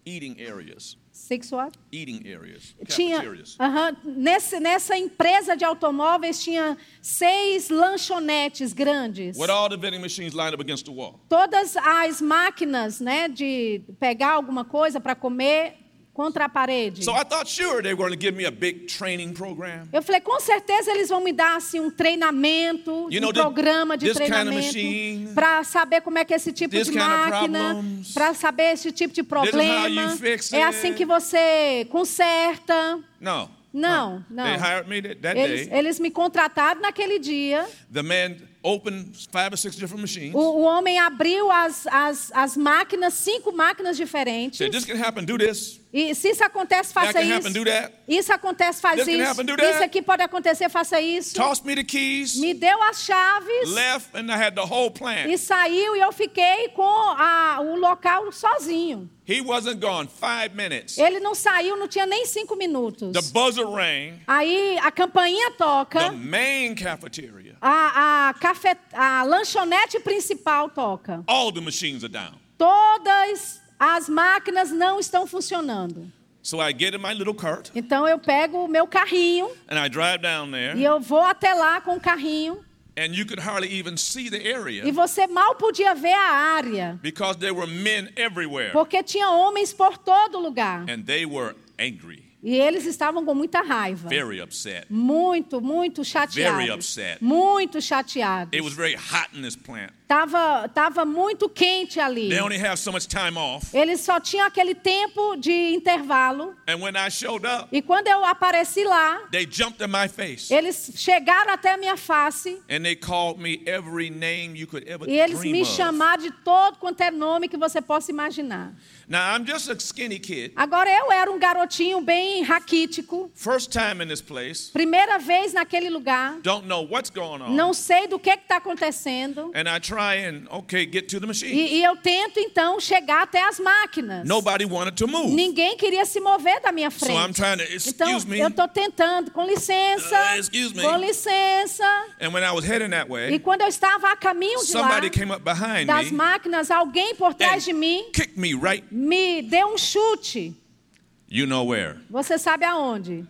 eating areas. Six what? Eating areas. Tinha, Cafeterias. aham, nesse, nessa empresa de automóveis tinha seis lanchonetes grandes. With all the vending machines lined up against the wall. Todas as máquinas, né, de pegar alguma coisa para comer contra a parede. So I thought, sure, they were going to give me a big training program. Eu falei, com certeza eles vão me dar assim um treinamento, You um know, the- programa de this kind of treinamento machine, para saber como é que é esse tipo this de kind of máquina, problems, para saber esse tipo de is how problema. you fix É it. assim que você conserta. No. Não, não. They hired me that, that Eles, day. eles me contrataram naquele dia. The man opened five or six different machines. O, o homem abriu as, as, as máquinas, cinco máquinas diferentes. Said, this can happen, do this. E se isso acontece, That faça can isso. happen, do that. Isso acontece, faz This can isso. happen, do that. Isso aqui pode acontecer, faça isso. Tossed me the keys. Me deu as chaves Left, and I had the whole plant. e saiu e eu fiquei com a, o local sozinho. He wasn't gone five minutes. Ele não saiu, não tinha nem cinco minutos. The buzzer rang. Aí a campainha The toca, main cafeteria. a, a, café, a lanchonete principal toca. All the machines are down. Todas as máquinas não estão funcionando. So I get in my little cart, Então eu pego o meu carrinho and I drive down there. e eu vou até lá com o carrinho. And you could hardly even see the area E você mal podia ver a área, because there were men everywhere. porque tinha homens por todo lugar. And they were angry, E eles estavam com muita raiva. very upset. Muito, muito chateados. Very upset. Muito chateados. It was very hot in this plant. Tava, tava muito quente ali. They only have so much time off. Eles só tinham aquele tempo de intervalo. And when I showed up, E quando eu apareci lá, they jumped in my face. eles chegaram até a minha face. And they called me every name you could ever E eles dream me of. chamaram de todo quanto é nome que você possa imaginar. Now, I'm just a skinny kid. Agora eu era um garotinho bem raquítico. First time in this place. Primeira vez naquele lugar. Don't know what's going on. Não sei do que está acontecendo. And I try and, okay, get to the machine. E, e eu tento, então, chegar até as máquinas. Nobody wanted to move. Ninguém queria se mover da minha So I'm frente. trying to, excuse Então, me. eu estou tentando, com licença, Uh, excuse me. com licença. And when I was heading that E way, quando eu estava a caminho de lá, somebody came up behind das me máquinas, alguém por trás de mim and kicked me right, me deu um chute. you know where. Você sabe aonde?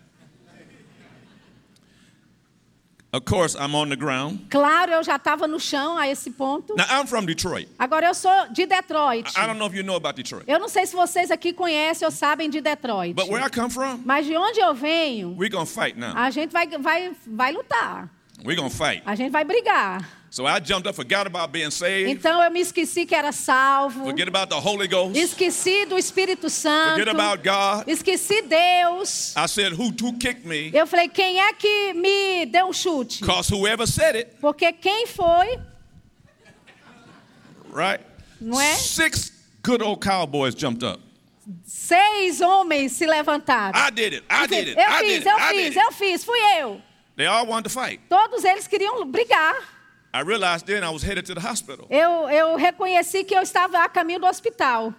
Of course, I'm on the ground. Claro, eu já estava no chão a esse ponto. Now, I'm from Detroit. Agora, eu sou de Detroit. I don't know if you know about Detroit. Eu não sei se vocês aqui conhecem ou sabem de Detroit. But where I come from, Mas de onde eu venho, we're going to fight now. a gente vai, vai, vai lutar. We're going to fight. A gente vai brigar. So I jumped up, forgot about being saved, Então eu me esqueci que era salvo. forget about the Holy Ghost, Esqueci do Espírito Santo. forget about God. Esqueci Deus. I said, who, who kicked me? Eu falei, quem é que me deu um chute? Because whoever said it, Porque quem foi, right? não é? Six good old cowboys jumped up. Seis homens se levantaram. I did it. I did it. Eu I fiz, did it. eu I fiz, did it. eu fiz, fui eu. They all wanted to fight. Todos eles queriam brigar. I realized then I was headed to the hospital. Eu, eu reconheci que eu estava a caminho do hospital.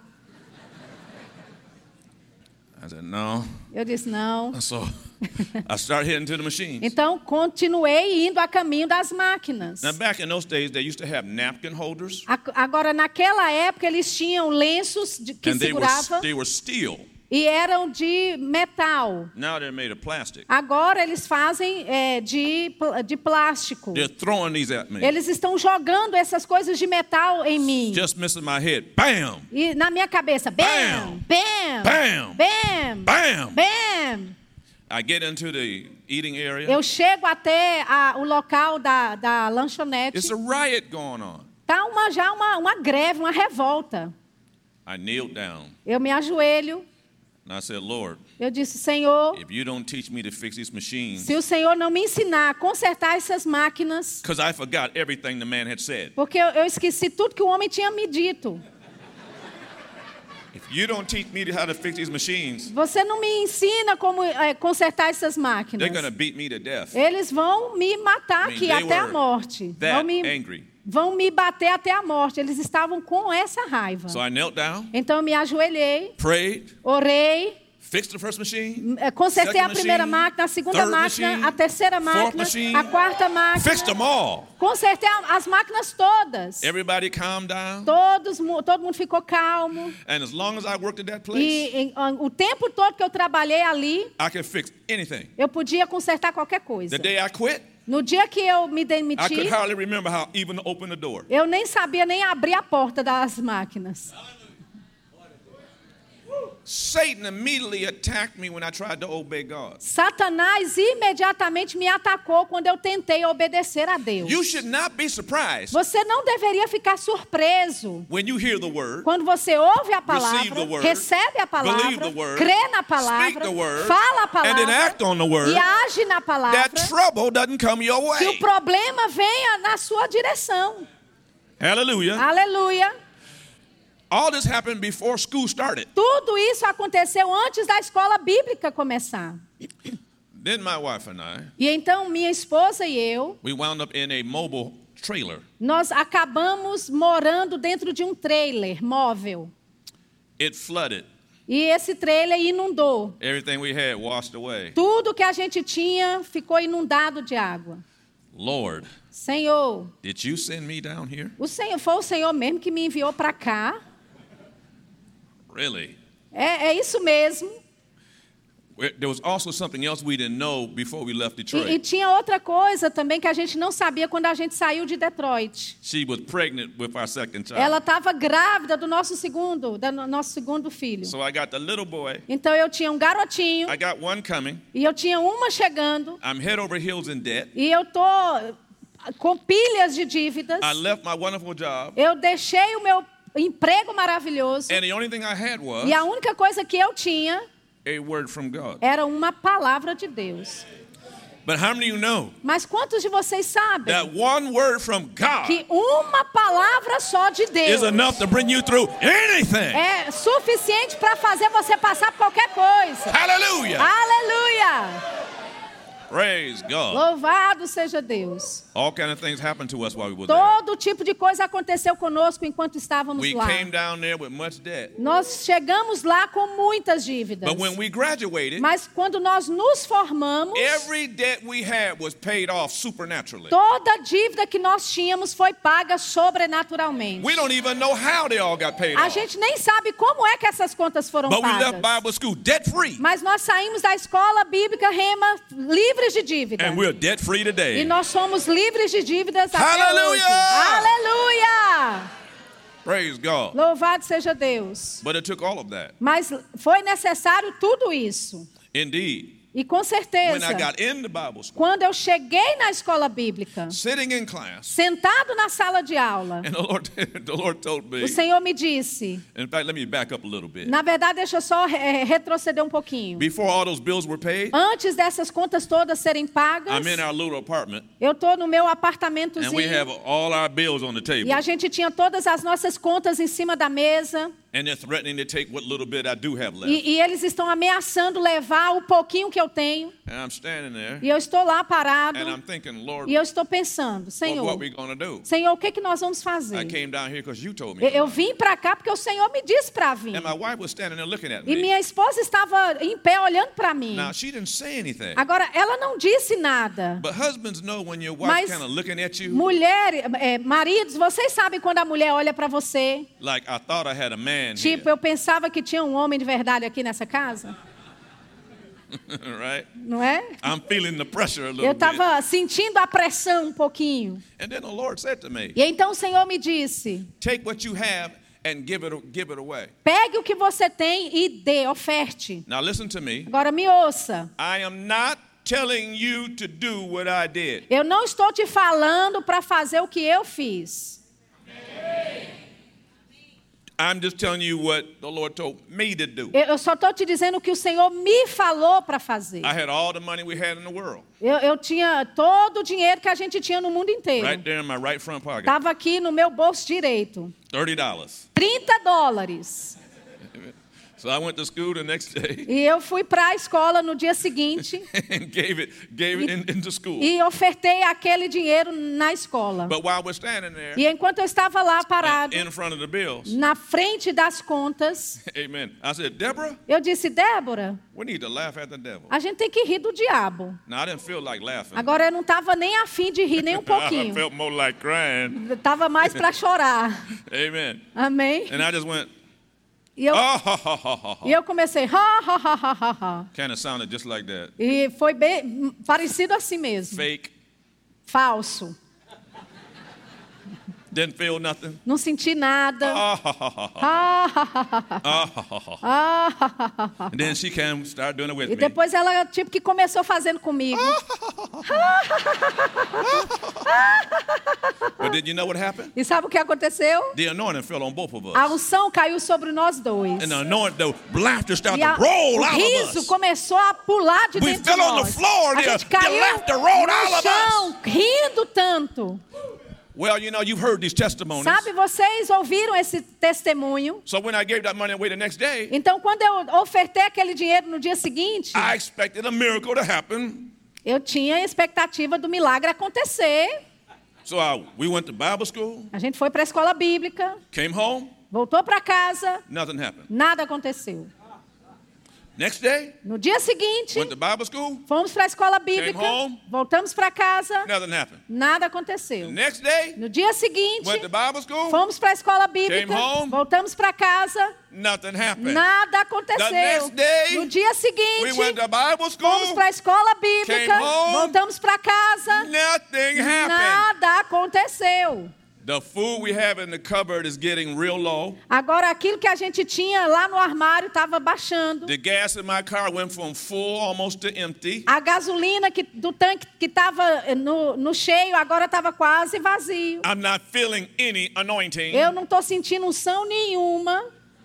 I said, no. Eu disse, não. So I started heading to the machines. Então, continuei indo a caminho das máquinas. Now, back in those days, they used to have napkin holders, A- Agora, naquela época, eles tinham lenços de, que and they were, seguravam they were steel. e eram de metal. Now they're made of plastic. Agora, eles fazem é, de, pl- de plástico. They're throwing these at me. Eles estão jogando essas coisas de metal em mim. Just missing my head. Bam! E na minha cabeça, bam, bam, Bam! bam, Bam! bam. I get into the eating area. Eu chego até a, o local da, da lanchonete. It's a riot going on. Tá uma, já uma, uma greve, uma revolta. I kneeled down Eu me ajoelho. and I said, Lord, Eu disse, Senhor, if you don't teach me to fix these machines, se o Senhor não me ensinar a consertar essas máquinas, because I forgot everything the man had said. porque eu, eu esqueci tudo que o homem tinha me dito. If you don't teach me how to fix these machines, Você não me ensina como é, consertar essas máquinas. they're going to beat me to death. Eles vão me matar I mean, aqui they até a were morte. Vão That me, angry. vão me bater até a morte. Eles estavam com essa raiva. So I knelt down, Então eu me ajoelhei, prayed, orei, Fixed the first machine. Consertei second a primeira machine, máquina, a segunda third máquina, machine, a terceira fourth máquina, machine. a quarta máquina. Fixed them all. Consertei a- as máquinas todas. Everybody calmed down. Todos, mu- todo mundo ficou calmo. And as long as I worked at that place, E em- an- o tempo todo que eu trabalhei ali, I could fix anything. eu podia consertar qualquer coisa. The day I quit, No dia que eu me I demiti, could hardly remember how even to open the door. eu nem sabia nem abrir a porta das máquinas. Satan immediately attacked me when I tried to obey God. Satanás imediatamente me atacou quando eu tentei obedecer a Deus. You should not be surprised Você não deveria ficar surpreso when you hear the word, quando você ouve a receive palavra, the word, recebe a believe palavra, the word, crê na speak palavra, the word, fala a and then palavra act on the word, e age na palavra, that trouble doesn't come your que o way. problema venha na sua direção. Hallelujah. Aleluia. All this happened before school started. Tudo isso aconteceu antes da escola bíblica começar. Then my wife and I, E então minha esposa e eu, we wound up in a mobile trailer. nós acabamos morando dentro de um trailer móvel. It flooded. E esse trailer inundou. Everything we had washed away. Tudo que a gente tinha ficou inundado de água. Lord, Senhor, did you send me down here? o Senhor foi o Senhor mesmo que me enviou para cá. Really? É, é isso mesmo. There was also something else we didn't know before we left E, e Detroit. tinha outra coisa também que a gente não sabia quando a gente saiu de Detroit. She was pregnant with our second child. Ela estava grávida do nosso segundo, do nosso segundo filho. So I got the little boy. Então eu tinha um garotinho I got one coming. e eu tinha uma chegando I'm head over heels in debt. e eu tô com pilhas de dívidas. I left my wonderful job. Eu deixei o meu emprego maravilhoso And the only thing I had was e a única coisa que eu tinha a word from God. era uma palavra de Deus. But how many of you know Mas quantos de vocês sabem that one word from God que uma palavra só de Deus is enough to bring you through anything? é suficiente para fazer você passar por qualquer coisa? Hallelujah. Aleluia! Praise God. Louvado seja Deus. All kind of things happened to us while we were there. Todo tipo de coisa aconteceu conosco enquanto estávamos We lá. came down there with much debt. Nós chegamos lá com muitas dívidas. But when we graduated, Mas quando nós nos formamos, every debt we had was paid off supernaturally. toda a dívida que nós tínhamos foi paga sobrenaturalmente. We don't even know how they all got paid A off. gente nem sabe como é que essas contas foram But we left pagas. Bible school debt free. Mas nós saímos da escola bíblica Rema livres de dívida. And we're debt free E today. nós somos livres de dívidas até Hallelujah! hoje. Aleluia! Praise God. Louvado seja Deus. But it took all of that. Mas foi necessário tudo isso. Indeed. E com When certeza, I got into Bible school, quando eu cheguei na escola bíblica, sitting in class, sentado na sala de aula, and the Lord, the Lord told me, o Senhor me disse, in fact, let me back up a little bit. na verdade, deixa eu só é, retroceder um pouquinho. Before all those bills were paid, Antes dessas contas todas serem pagas, I'm in our little apartment, eu estou no meu and we apartamentozinho have all our bills on the table. e a gente tinha todas as nossas contas em cima da mesa And they're threatening to take what little bit I do have left. e, e eles estão ameaçando levar o pouquinho que eu tenho. And I'm standing there, E eu estou lá parado and I'm thinking, Lord, e eu estou pensando, what, Senhor, what we going to do? Senhor, o que, que nós vamos fazer? I came down here because you told me. Eu, to. eu vim para cá porque o Senhor me disse para vir. And my wife was standing there looking at E me. minha esposa estava em pé olhando para mim. Now, she didn't say anything. Agora, ela não disse nada. But husbands know when your Mas wife's kind of looking at you, mulher, é, maridos, vocês sabem quando a mulher olha para você? like, I thought I had a man Tipo, here. eu pensava que tinha um homem de verdade aqui nessa casa, Right? não é? I'm feeling the pressure a Eu little bit. estava sentindo a pressão um pouquinho. And then the Lord said to me, E então o Senhor me disse: take what you have and give it, give it away. pegue o que você tem e dê, oferte. Now listen to me. Agora me ouça. I am not telling you to do what I did. Eu não estou te falando para fazer o que eu fiz. I'm just telling you what the Lord told me to do. Eu eu só estou te dizendo o que o Senhor me falou para fazer. I had all the money we had in the world Eu, eu tinha todo o dinheiro que a gente tinha no mundo inteiro. right there in my right front pocket. Estava aqui no meu bolso direito. thirty dollars. trinta dólares. So I went to school the next day E eu fui para a escola no dia seguinte and gave it, gave it in, into school. e ofertei aquele dinheiro na escola. But while we're standing there E enquanto eu estava lá parado, in front of the bills, na frente das contas, amen, I said, Deborah, eu disse, Débora, we need to laugh at the devil. a gente tem que rir do diabo. Now, I didn't feel like laughing. Agora eu não estava nem afim de rir, nem um I pouquinho. felt more like crying. Estava mais para chorar. Amen. Amém? And I just went, E eu, oh, ha, ha, ha, ha, e ha. eu comecei, ha, ha, ha, ha, ha, ha. Kind of sounded just like that. E foi bem parecido assim mesmo. Fake. Falso. Didn't feel nothing. Não senti nada. Ah, ha, ha, ha, ha. Ha, ha, ha, ha, ha. Ah, ha, ha, ha. Ah, ha, ha, ha, ha. And then she came, started doing it with E me. depois ela tipo que começou fazendo comigo. But did you know what happened? E sabe o que aconteceu? The anointing fell on both of A us. unção caiu sobre nós dois. And the anointing, the laughter started E a, to roll o out of riso us. começou a pular de We dentro de fell on the nós. floor, A the- gente the caiu laughter rolled out no of chão, rindo tanto. Well, you know, you've heard these testimonies. Sabe, vocês ouviram esse testemunho? So when I gave that money away the next day, Então, quando eu ofertei aquele dinheiro no dia seguinte, I expected a miracle to happen. eu tinha a expectativa do milagre acontecer. So I, we went to Bible school, A gente foi para a escola bíblica, came home, voltou para casa, nothing happened. nada aconteceu. Next day, No dia seguinte, went to Bible school, fomos para a escola bíblica, Came home. voltamos para casa, nothing happened. nada aconteceu. Next day, No dia seguinte, went to Bible school, fomos para a escola bíblica, Came home. voltamos para casa, nothing happened. nada The aconteceu. next day, No dia We seguinte, went to Bible fomos school, para a escola bíblica, Came home. voltamos para casa, nothing happened. nada aconteceu. The food we have in the cupboard is getting real low. Agora, aquilo que a gente tinha lá no armário estava baixando. The gas in my car went from full almost to empty. A gasolina que, do tanque que estava no, no cheio agora estava quase vazio. I'm not feeling any anointing. Eu não estou sentindo unção nenhuma.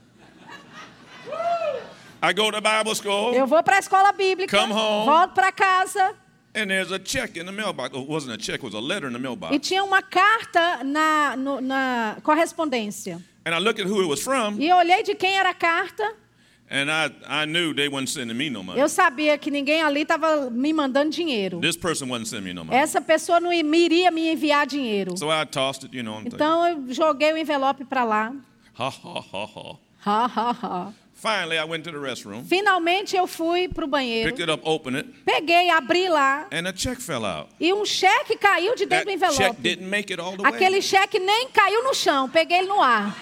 I go to Bible school, Eu vou para a escola bíblica, Come home. volto para casa and there's a check in the mailbox. It wasn't a check, it was a letter in the e mailbox. tinha uma carta na, no- na correspondência. And I looked at who it was from, E eu olhei de quem era a carta. and I, I knew they wasn't sending me no money. Eu sabia que ninguém ali estava me mandando dinheiro. This person wasn't sending me no money. Essa pessoa não me iria me enviar dinheiro. So I tossed it, you know. And Então eu joguei o envelope para lá. ha, ha, ha, ha. Ha, ha, ha. Finally, I went to the restroom, Finalmente eu fui para o banheiro. picked it up, opened it, Peguei, abri lá and a check fell out. e um cheque caiu de dentro That do check envelope. didn't make it all the way. Aquele cheque nem caiu no chão, peguei ele no ar.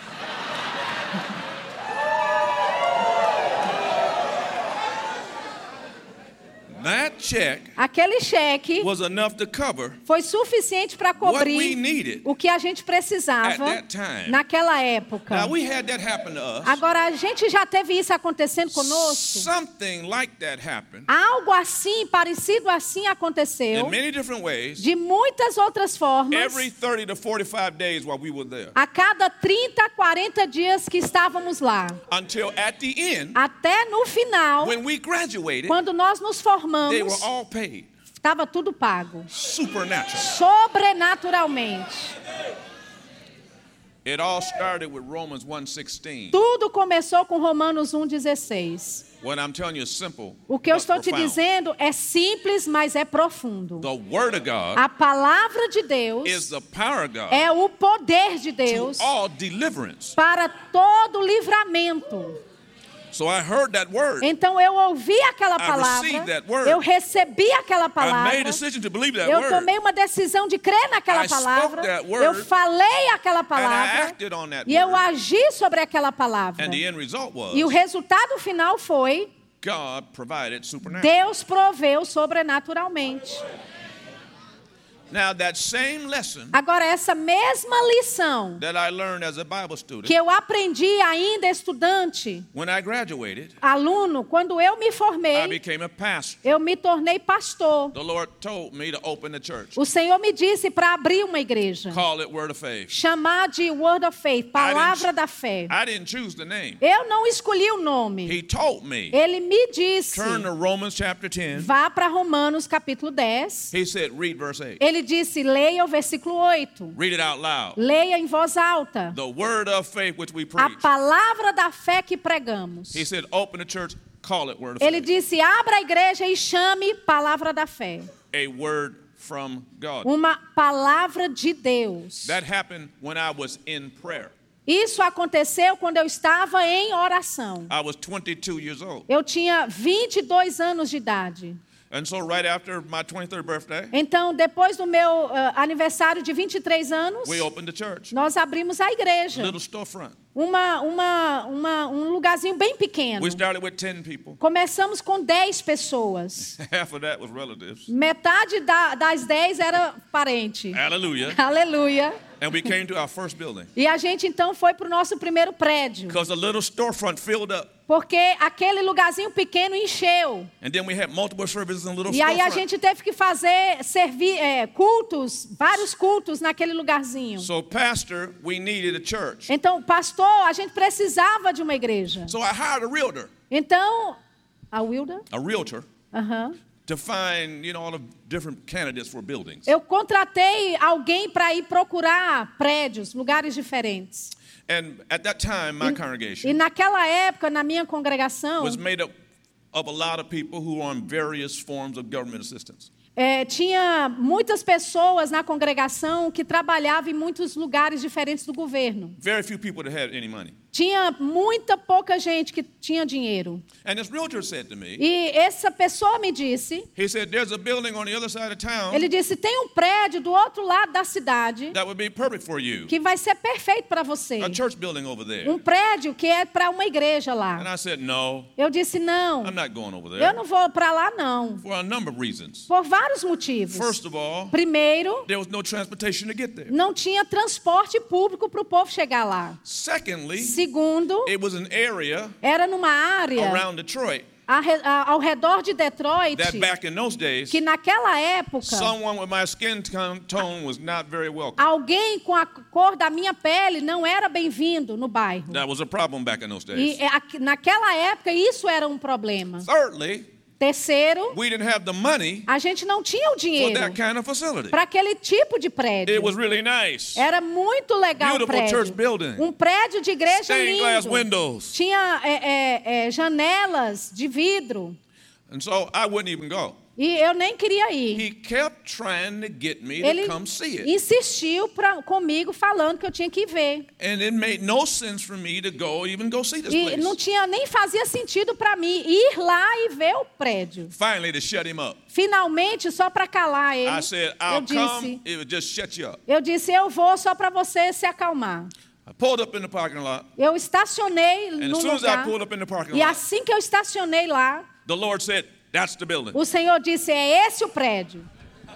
That check Aquele cheque was enough to cover foi suficiente para what we cobrir needed. o que a gente precisava At that time. naquela época. Now, we had that happen to us. Agora, a gente já teve isso acontecendo conosco. Something like that happened Algo assim, parecido assim aconteceu in many different ways de muitas outras formas. every thirty to forty-five days while we were there. A cada trinta, quarenta dias que estávamos lá. Until at the end, Até no final, when we graduated, quando nós nos they were formamos, all paid estava tudo pago. supernatural. Sobrenaturalmente. It all started with Romans one sixteen. Tudo começou com Romanos um, dezesseis. What I'm telling you is simple. O que eu but estou te profound. dizendo é simples, mas é profundo. The Word of God A palavra de Deus is the power of God é o poder de to Deus all deliverance. para todo livramento. So I heard that word. Então eu ouvi aquela palavra, received that word. eu recebi aquela I palavra, made a decision to believe that eu word. tomei uma decisão de crer naquela I spoke palavra, that word. eu falei aquela And I palavra acted on that e eu word. agi sobre aquela palavra. And the end result was E o resultado final foi: God provided supernaturally. Deus proveu sobrenaturalmente. Now that same lesson Agora, essa mesma lição that I learned as a Bible student, que eu aprendi ainda estudante, when I graduated, aluno, quando eu me I formei, became a pastor. eu me tornei pastor. The Lord told me to open the church. O Senhor me disse para abrir uma igreja, Call it Word of Faith. chamar de Word of Faith, palavra da fé. I didn't choose the name. Eu não escolhi o nome. He told me. Ele me disse, Turn to Romans chapter ten. vá para Romanos capítulo dez. He said, read verse eight. Ele disse, leia o versículo oito. Read it out loud. Leia em voz alta. The word of faith which we A preach. palavra da fé que pregamos. He said, open the church, call it word of Ele faith. disse, abra a igreja e chame palavra da fé. A word from God. Uma palavra de Deus. That happened when I was in prayer. Isso aconteceu quando eu estava em oração. I was twenty-two years old. Eu tinha vinte e dois anos de idade. And so right after my twenty-third birthday, Então, depois do meu uh, aniversário de vinte e três anos, we opened the church. nós abrimos a igreja. Little storefront. Uma, uma, uma, um lugarzinho bem pequeno. We started with ten people. Começamos com dez pessoas. Half of that was relatives. Metade da, das dez era parente. Hallelujah. Aleluia. And we came to our first building. E a gente então foi para o nosso primeiro prédio. Because the little storefront filled up. Porque aquele lugarzinho pequeno encheu. And then we had multiple services in little E aí a storefront. gente teve que fazer servir, é, cultos, vários cultos naquele lugarzinho. So pastor, we needed a church. Então, pastor, a gente precisava de uma igreja. So I hired a realtor. Então, a Wilda? A realtor. Aham. To find, you know, all the different candidates for buildings. Eu contratei alguém para ir procurar prédios, lugares diferentes. And at that time, my E congregation naquela época, na minha congregação, was made up of a lot of people who were on various forms of government assistance. é, tinha muitas pessoas na congregação que trabalhavam em muitos lugares diferentes do governo. Very few people that had any money. Tinha muita pouca gente que tinha dinheiro. And this realtor said to me, E essa pessoa me disse, he said, there's a building on the other side of town ele disse, tem um prédio do outro lado da cidade that would be perfect for you. que vai ser perfeito para você. A church building over there. Um prédio que é para uma igreja And lá. I said, no, Eu disse, não, I'm not going over eu there. não vou para lá não. For a number of reasons. Por vários motivos. First of all, Primeiro, there was no transportation to get there. não tinha transporte público para o povo chegar lá. Secondly, Segundo, it was an area era numa área around Detroit a re- a- ao redor de Detroit, that back in those days, que naquela época, someone with my skin ton- tone was not very welcome. alguém com a cor da minha pele não era bem-vindo no bairro. That was a problem back in those E days. é, aqui- naquela época isso era um problema. Thirdly, Terceiro, we didn't have the money a gente não tinha o for dinheiro that kind of facility. para aquele tipo de prédio. It was really nice. Era muito legal o Beautiful prédio. church building. Um prédio de igreja Stained glass lindo. windows. Tinha é, é, é, janelas de vidro. And so I wouldn't even go. E eu nem queria ir. He kept trying to get me to Ele come see it. insistiu pra, comigo falando que eu tinha que ver. And it made no sense for me to go, even go see this E place. não tinha nem fazia sentido para mim ir lá e ver o prédio. Finally, to shut him up, Finalmente, só para calar ele, I said, eu I'll disse, come, it would just shut you up. eu disse, eu vou só para você se acalmar. I pulled up in the parking lot, Eu estacionei and no as soon as I lugar. pulled up in the parking E lot, assim que eu estacionei lá, the Lord said, that's the building. o Senhor disse, é esse o prédio.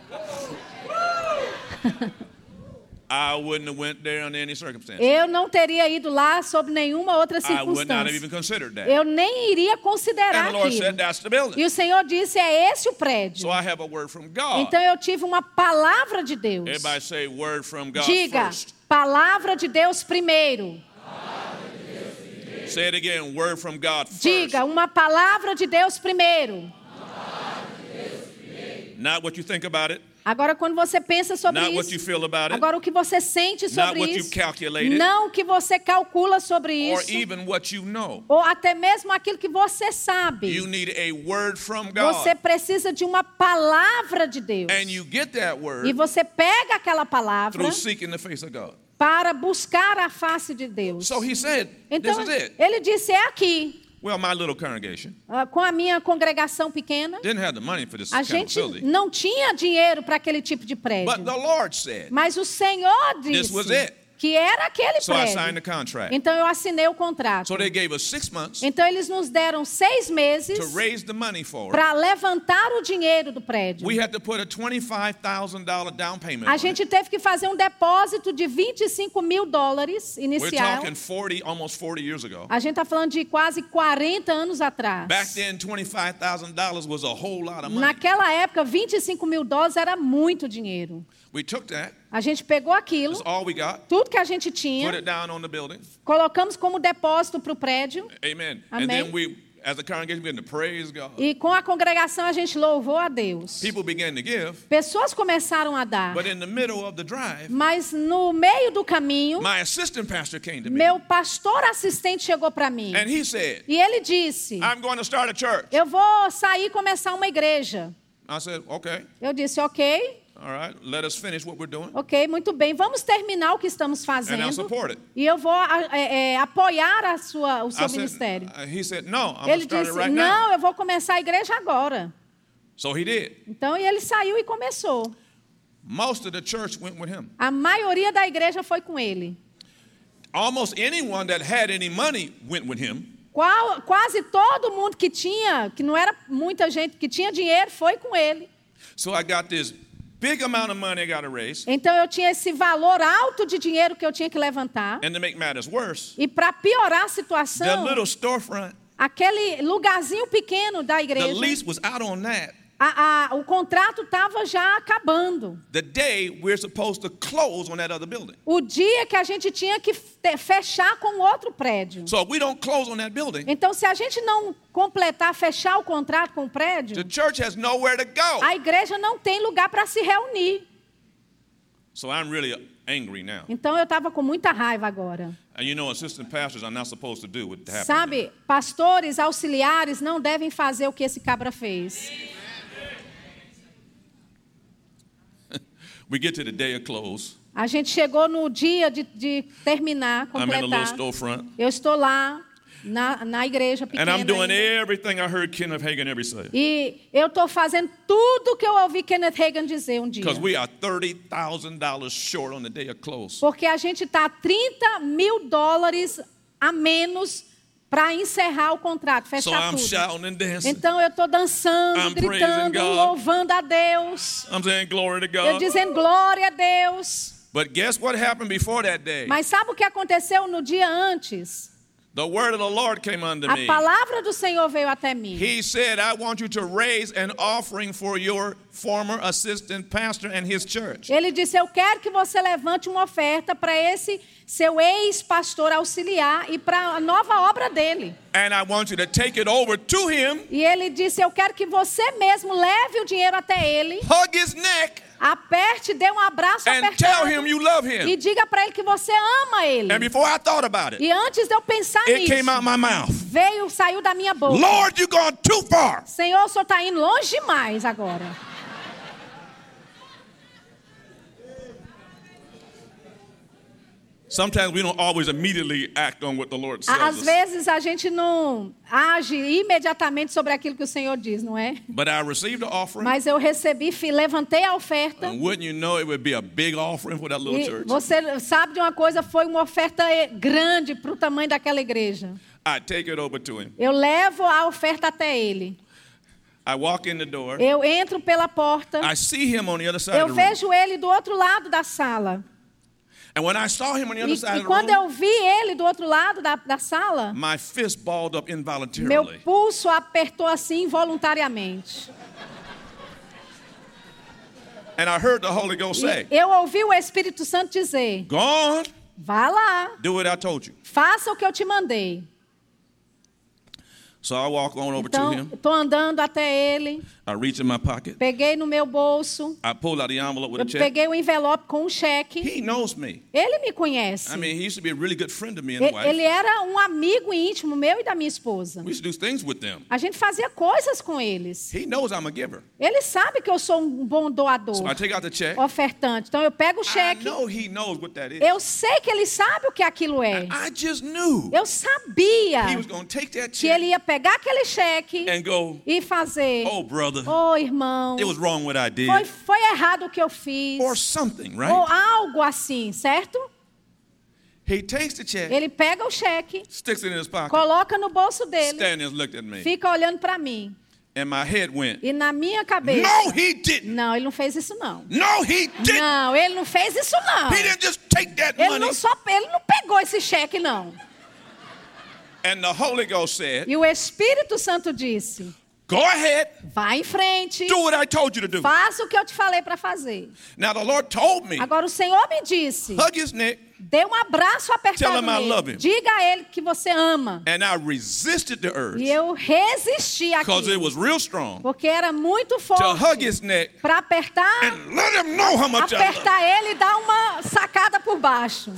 I wouldn't have went there under any circumstance. Eu não teria ido lá sob nenhuma outra I would not have circunstância. even considered that. Eu nem iria considerar And the Lord aquilo. said, that's the building. E o Senhor disse, é esse o prédio. So I have a word from God. Então eu tive uma palavra de Deus. Everybody say word from God Diga, first. palavra de Deus primeiro. Say it again, word from God first. Diga, uma palavra de Deus primeiro. Not what you think about it. Agora, quando você pensa sobre Not what you isso, feel about it. agora o que você sente sobre what you isso, calculated. não o que você calcula sobre Or isso, even what you know. ou até mesmo aquilo que você sabe. You need a word from God. Você precisa de uma palavra de Deus. And you get that E word você pega aquela palavra through seeking the face of God. para buscar a face de Deus. So he said, Então, this is it. ele disse, é aqui. Well, my little congregation Ah, com a minha congregação pequena, didn't have the money for this a kind of gente facility. não tinha dinheiro para aquele tipo de prédio. But the Lord said, Mas o Senhor This was it. disse que era aquele so I signed prédio. the contract. Então eu assinei o contrato. So they gave us six months Então eles nos deram seis meses to raise the money for it. para levantar o dinheiro do prédio. We had to put a twenty-five thousand dollars down payment A on it. gente teve que fazer um depósito de vinte e cinco mil dólares We're inicial. talking forty, almost forty years ago. A gente está falando de quase quarenta anos atrás. Back then, twenty-five thousand dollars was a whole lot of money. Naquela época, vinte e cinco mil dólares era muito dinheiro. We took that. A gente pegou aquilo, That's all we got. tudo que a gente Put tinha, it down on the building. colocamos como depósito para o prédio. Amen. Amém. And then we, As the congregation began to praise God, E com a congregação a gente louvou a Deus. people began to give. Pessoas começaram a dar. But in the middle of the drive, Mas no meio do caminho, my assistant pastor came to me. meu pastor assistente chegou para mim. And he said, E ele disse: I'm going to start a church. eu vou sair e começar uma igreja. I said, okay, Eu disse: ok, all right, let us finish what we're doing. ok, muito bem. Vamos terminar o que estamos And I'll fazendo. support it. E eu vou é, é, apoiar a sua, o seu I said, ministério. uh, he said, no, I'm going Ele to start disse: it right não, now. eu vou começar a igreja agora. So he did. Então, e ele saiu e começou. Most of the church went with him. A maioria da igreja foi com ele. Almost anyone that had any money went with him. Qual, quase todo mundo que tinha, que não era muita gente, que tinha dinheiro, foi com ele. So I got this big amount of money I got to raise. Então eu tinha esse valor alto de dinheiro que eu tinha que levantar. And to make matters worse, E para piorar a the situação, little storefront, aquele lugarzinho pequeno da the igreja, lease was out on that a, a, o contrato estava já acabando. the day we're supposed to close on that other building. O dia que a gente tinha que fe- fechar com outro prédio. So if we don't close on that building, Então, se a gente não completar, fechar o contrato com o prédio, the church has nowhere to go. a igreja não tem lugar para se reunir. So I'm really angry now. Então, eu estava com muita raiva agora. And you know, assistant pastors are not supposed to do what happened. Sabe, pastores auxiliares não devem fazer o que esse cabra fez. We get to the day of close. A gente chegou no dia de, de terminar, I'm in a little completar. storefront. Eu estou lá na, na igreja And pequena I'm doing ainda. everything I heard Kenneth Hagin ever say. E eu estou fazendo tudo que eu ouvi Kenneth Hagin dizer um dia. Because we are thirty thousand dollars short on the day of close. Porque a gente está trinta mil dólares a menos para encerrar o contrato, So fechar I'm tudo. shouting and dancing. Então eu estou dançando, I'm gritando, praising God. louvando a Deus. I'm saying glory to Eu God. dizendo glória a Deus. But guess what happened before that day? Mas sabe o que aconteceu no dia antes? The word of the Lord came unto A me. palavra do Senhor veio até mim. He said, I want you to raise an offering for your former assistant pastor and his church. Ele disse: eu quero que você levante uma oferta para esse seu ex-pastor auxiliar e para a nova obra dele. And I want you to take it over to him, E ele disse: eu quero que você mesmo leve o dinheiro até ele, hug his neck, aperte, dê um abraço and tell apertado him you love e him. diga para ele que você ama ele. And before I thought about it, E antes de eu pensar it nisso, came out my mouth. veio, saiu da minha boca: Lord, you've gone too far. Senhor, o senhor está indo longe demais agora. Sometimes we don't always immediately act on what the Lord says. Às us. vezes a gente não age imediatamente sobre aquilo que o Senhor diz, não é? But I received the offering, Mas eu recebi, fi- levantei a oferta. and wouldn't you know it would be a big offering for that little E church. você sabe de uma coisa, foi uma oferta eh, grande para o tamanho daquela igreja. I take it over to him. Eu levo a oferta até ele. I walk in the door. Eu entro pela porta. I see him on the other side Eu of the room. vejo ele do outro lado da sala. And when I saw him on the other E, side e of the quando room, eu vi ele do outro lado da, da sala, my fist balled up meu involuntarily. pulso apertou assim involuntariamente. And I heard the Holy Ghost say, E eu ouvi o Espírito Santo dizer: go on, vá lá, do what I told you. faça o que eu te mandei. So I walk on over to Então, him. estou andando até ele, I reach in my pocket. peguei no meu bolso, I pulled out the envelope with a eu check. peguei o envelope com um cheque. He knows me. Ele me conhece. I mean, he used to be a really good friend of me and E- wife. Ele era um amigo íntimo meu e da minha esposa. We used to do things with them. A gente fazia coisas com eles. He knows I'm a giver. Ele sabe que eu sou um bom doador, So I take out the check. ofertante. Então eu pego o I cheque. know he knows what that is. Eu sei que ele sabe o que aquilo é. I just knew Eu sabia he was going to take that que ele check ia pegar aquele cheque and go, e fazer: oh, brother, ô irmão, it was wrong what I did. foi, foi errado o que eu fiz. Or something, Ou right? algo assim, certo? He takes the check, Ele pega o cheque, sticks it in his pocket, coloca no bolso dele, stands and looked at me. fica olhando para mim. And my head went, E na minha cabeça: no, he didn't. não, ele não fez isso não. No, he didn't. Não, ele não fez isso não. He didn't just take that Ele money. não só, ele não pegou esse cheque não. And the Holy Ghost said, E o Espírito Santo disse: Go ahead. Vá em frente. Do what I told you to do. Faça o que eu te falei para fazer. Now the Lord told me, Agora o Senhor me disse, hug his neck, dê um abraço Tell apertado him I love nele. him. Diga a ele que você ama. and I resisted the urge E eu resisti because it aqui. was real strong Porque era muito to hug forte. his neck Para apertar, and let him know how much I love him. apertar ele e dar uma sacada por baixo.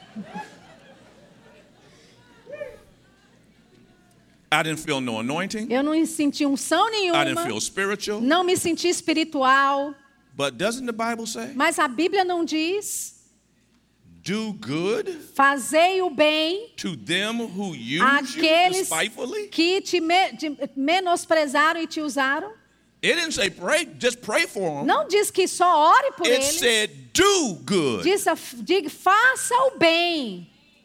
I didn't feel no anointing. Eu não senti unção I didn't nenhuma. feel spiritual. Não me senti espiritual. But doesn't the Bible say, Mas a Bíblia não diz: do good fazei o bem to them who use you àqueles despitefully? que te me- de- menosprezaram e te usaram? It didn't say pray, just pray for them. Não diz que só ore por It eles. said do good. Diz, diga, faça o bem.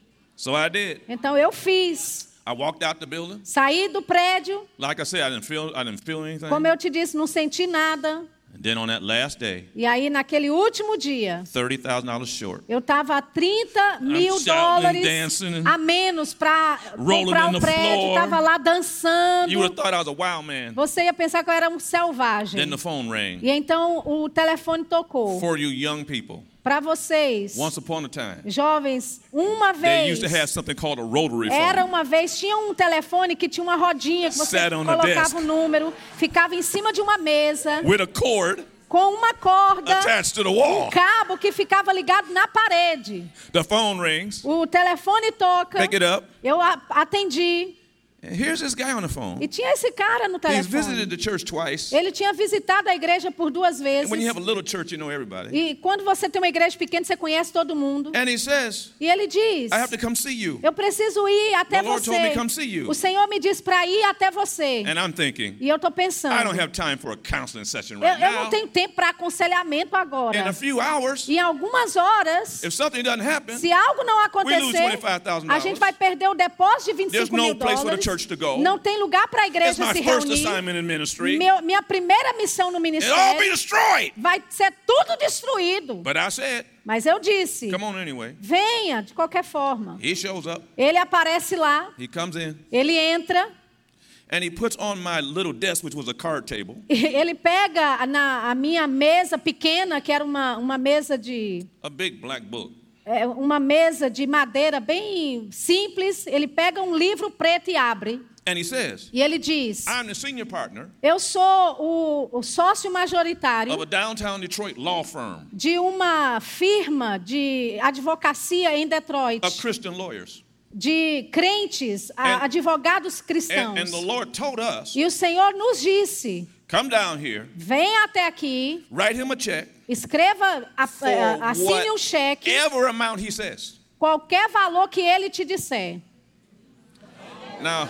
So I did. Então eu fiz. I walked out the building. Saí do prédio. Like I said, I didn't feel I didn't feel anything. Como eu te disse, não senti nada. And then on that last day, E aí, naquele último dia, thirty thousand dollars short. eu estava a trinta mil shouting, dólares dancing, a menos para rolling comprar in o the prédio. floor. Estava lá dançando. You would have thought I was a wild man. Você ia pensar que eu era um selvagem. Then the phone rang. E então o telefone tocou. For you young people, Para vocês, once upon a time, jovens, uma they vez, used to have something called a rotary era phone. uma vez, tinha um telefone que tinha uma rodinha que você Sat on the colocava desk. o número, ficava em cima de uma mesa, With a cord com uma corda, attached to the um wall. cabo que ficava ligado na parede. The phone rings. O telefone toca, Pick it up. eu a- atendi, And here's this guy on the phone. e tinha esse cara no He's visited telefone. the church twice. Ele tinha visitado a igreja por duas vezes. And when you have a little church, you know everybody. E quando você tem uma igreja pequena, você conhece todo mundo. And he says, E ele diz: I have to come see you. eu preciso ir até The Lord você. told me come see you. O Senhor me disse para ir até você. And I'm thinking, E eu estou pensando, I don't have time for a counseling session eu, right eu não now. tenho tempo para aconselhamento agora. In a few hours, Em algumas horas, if something doesn't happen, se algo não lose acontecer, twenty-five thousand a gente dollars. vai perder o depósito de vinte e There's cinco no mil place for the dólares. church to go. Não tem lugar para a It's igreja my se first reunir. assignment in ministry. Meu, minha primeira missão no It'll all be ministério destroyed. vai ser tudo destruído. But I said, Mas eu disse, come on anyway. venha de qualquer forma. He shows up. Ele aparece lá, He comes in. ele entra, And he puts on my little desk, which was a card table, ele pega na a minha mesa pequena, que era uma, uma mesa de a big black book. é, uma mesa de madeira bem simples. Ele pega um livro preto e abre. And he says, E ele diz: I'm the senior partner eu sou o, o sócio majoritário of a downtown Detroit law firm de uma firma de advocacia em Detroit, of Christian lawyers. de crentes, a- And- advogados cristãos. And, and the Lord told us, E o Senhor nos disse: come down here, venha até aqui, write him a check escreva, a- for a- assine um cheque, whatever amount he says. qualquer valor que ele te disser. Now,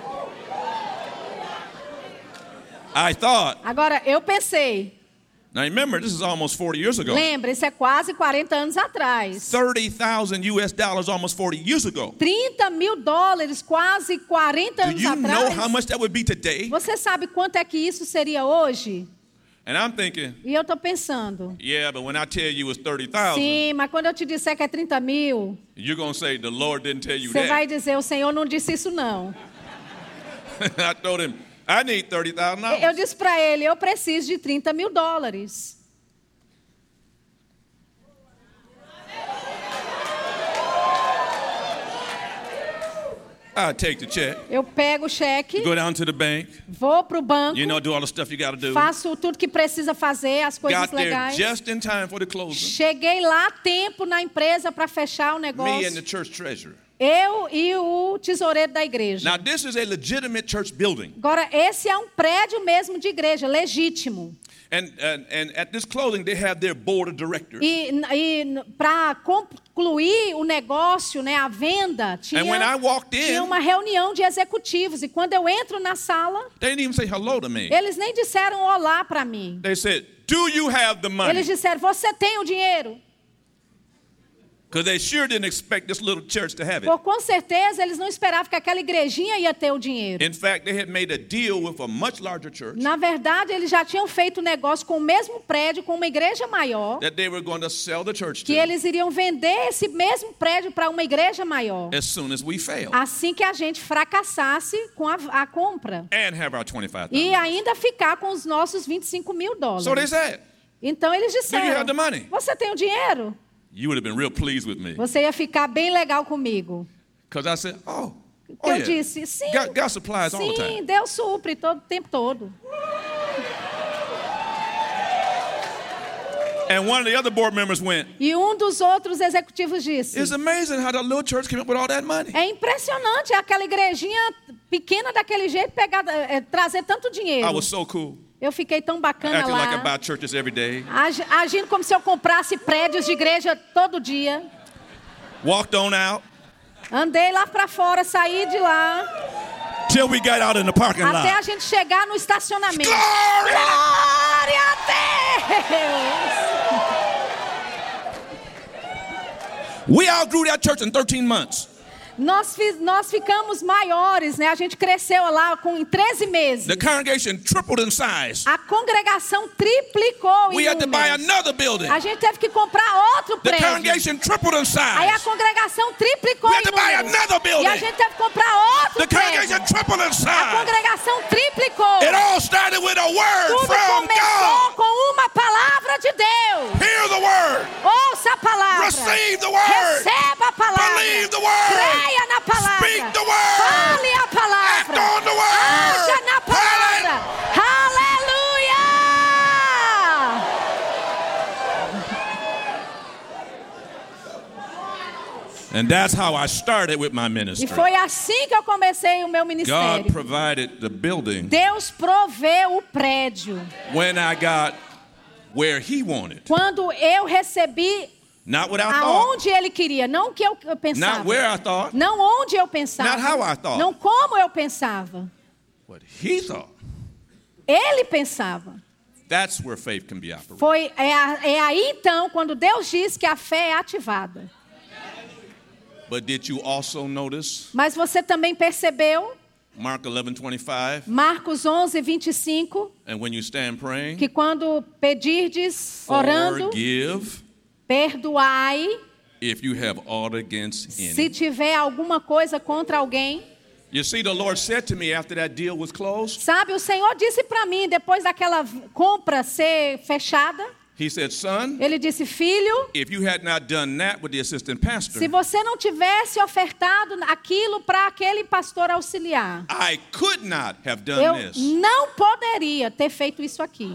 I thought, Agora, eu pensei, now remember, this is almost forty years ago. lembra, isso é quase quarenta anos atrás. thirty thousand U S dollars almost forty years ago. trinta mil dólares, quase quarenta Do anos you know how atrás. much that would be today? Você sabe quanto é que isso seria hoje? And I'm thinking, E eu estou pensando, yeah, but when I tell you it's thirty thousand, sim, mas quando eu te disser que é trinta mil, you're going to say, the Lord didn't tell you você vai that. dizer, o Senhor não disse isso não. I told him, I need thirty thousand Eu dollars. disse para ele, eu preciso de trinta mil dólares. I take the check, Eu pego o cheque, go down to the bank, vou para o banco, you know, do all the stuff you got to do. faço tudo que precisa fazer, as coisas Got there legais. just in time for the closing. Cheguei lá a tempo na empresa para fechar o Me and the negócio. church treasurer. Eu e o tesoureiro da igreja. Now, this is a legitimate church building. Agora, esse é um prédio mesmo de igreja, legítimo. And, and, and at this closing, they have their board of directors. E, e para concluir o negócio, né, a venda, tinha, And when I walked in- tinha uma reunião de executivos. E quando eu entro na sala, They didn't even say hello to me. eles nem disseram olá para mim. They said, do you have the money? Eles disseram, você tem o dinheiro? Because they sure didn't expect this little church to have it. Por com certeza eles não esperavam que aquela igrejinha ia ter o dinheiro. In fact, they had made a deal with a much larger church Na verdade, eles já tinham feito negócio com o mesmo prédio, com uma igreja maior, that they were going to sell the church que to eles iriam vender esse mesmo prédio para uma igreja maior, as soon as we fail assim que a gente fracassasse com a, a compra. and have our twenty-five E thousand. ainda ficar com os nossos vinte e cinco mil dólares. So they said, Então eles "Do you disseram, have the money?" você tem o dinheiro? You would have been real pleased with me. Você ia ficar bem legal comigo. Because I said, oh, Que oh eu yeah. disse, sim, God, God supplies all the sim, time. Deus supre todo o tempo todo. And one of the other board members went, E um dos outros executivos disse, it's amazing how that little church came up with all that money. é impressionante aquela igrejinha pequena daquele jeito pegar, é, trazer tanto dinheiro. I was so cool. Eu fiquei tão bacana Acting like I lá, buy churches every day. agi- agindo como se eu comprasse prédios de igreja todo dia. Walked on out Andei lá pra fora, saí de lá, till we got out in the parking até a lot. gente chegar no estacionamento. Glory! Glória a Deus! We outgrew that church in thirteen months. Nós, fi- nós ficamos maiores, né? A gente cresceu lá com, em treze meses. The congregation tripled in size. A congregação triplicou We em had to buy números. another building. A gente teve que comprar outro The prédio. congregation tripled in Aí a size. congregação triplicou We em had to buy números. another building. E a gente teve que comprar outro The prédio. congregation tripled in A size. congregação triplicou. It all started with a word Tudo from começou God. com uma palavra de Deus. Hear the word. Ouça a palavra. Receive the word. Receba a palavra. Believe the word. Creia na palavra. Speak the word. Fale a palavra. Act on the word. Haja na palavra. Aleluia! And that's how I started with my E ministry. foi assim que eu comecei o meu ministério. God provided the building Deus proveu o prédio. when I got where He wanted. Quando eu recebi Not what I thought. aonde Ele queria, não o que eu eu pensava. Not where I thought. Não onde eu pensava. Not how I thought. Não como eu pensava. What He thought. Ele pensava. That's where faith can be operated. Foi, é, a- é aí então quando Deus diz que a fé é ativada. But did you also notice Mas você também percebeu, Mark eleven twenty-five? Marcos onze, vinte e cinco, And when you stand praying, que quando pedirdes, orando, forgive perdoai, if you have aught against se any. tiver alguma coisa contra alguém. You see, the Lord said to me after that deal was closed, Sabe, o Senhor disse para mim, depois daquela compra ser fechada, He said, son, Ele disse, filho, if you had not done that with the assistant pastor, se você não tivesse ofertado aquilo para aquele pastor auxiliar, I could not have eu done this. não poderia ter feito isso aqui.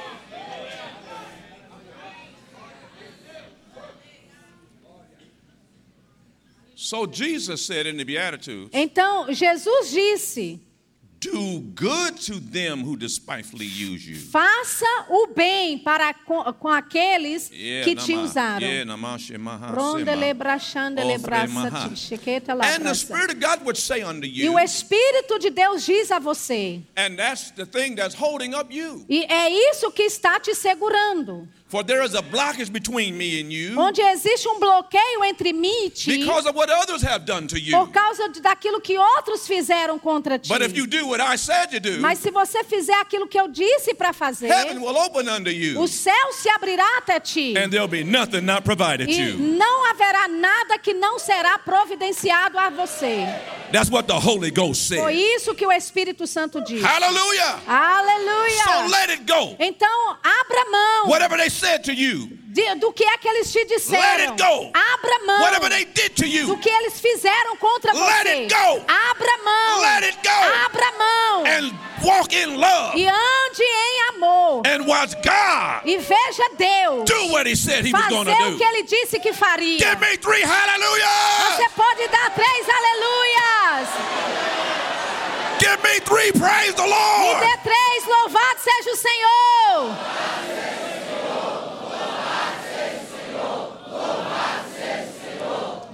So Jesus said in the Beatitudes, Então, Jesus disse, do good to them who despitefully use you. faça o bem para com, com aqueles Yeah, que te nama- usaram. yeah, namashe maha Rondele sema. brachandele Ofre braça, maha. tichequeta lá And the braça. Spirit of God would say unto E you, o Espírito de Deus diz a você, and that's the thing that's holding up you. e é isso que está te segurando. For there is a blockage between me and you Onde existe um bloqueio entre mim e ti, because of what others have done to you. por causa de, daquilo que outros fizeram contra ti. But if you do what I said to do, Mas se você fizer aquilo que eu disse para fazer, heaven will open unto you, o céu se abrirá até ti. and there'll be nothing not provided E you. não haverá nada que não será providenciado a você. That's what the Holy Ghost Foi said. isso que o Espírito Santo disse. Hallelujah. Aleluia! So let it go. Então, abra mão Whatever they said to you, de, do que é que eles te disseram. let it go. Abra mão Whatever they did to do you, que eles fizeram contra Let você. it go. Abra mão. Let it go. Abra mão. and walk in love E ande em amor. and watch God E veja Deus do what He said He was going fazer to o do. que Ele disse que faria. Give me three hallelujah. Você pode dar três aleluias. Give me three praise the Me Lord. dê três, louvado seja o Senhor.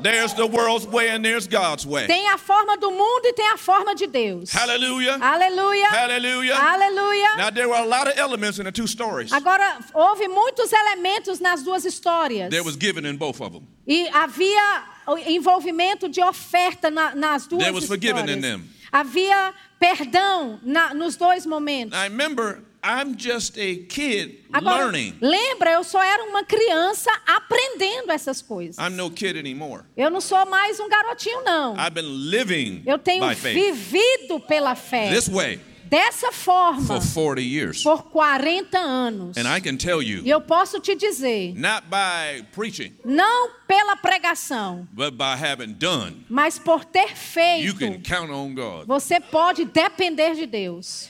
There's the world's way and there's God's way. Tem a forma do mundo e tem a forma de Deus. Hallelujah. Aleluia. Hallelujah. Aleluia. Now there were a lot of elements in the two stories. Agora, houve muitos elementos nas duas histórias. There was giving in both of them. E havia o envolvimento de oferta na, nas duas There was forgiving in histórias. them. Havia perdão na, nos dois momentos. Now remember, I'm just a kid Agora, learning. lembra, eu só era uma criança aprendendo essas coisas. I'm no kid anymore. Eu não sou mais um garotinho, não. I've been living Eu tenho by faith vivido pela fé. this way Dessa forma, for forty years. por quarenta anos. And I can tell you, E eu posso te dizer, not by preaching, não pela pregação, but by having done, mas por ter you feito, can count on God. você pode depender de Deus.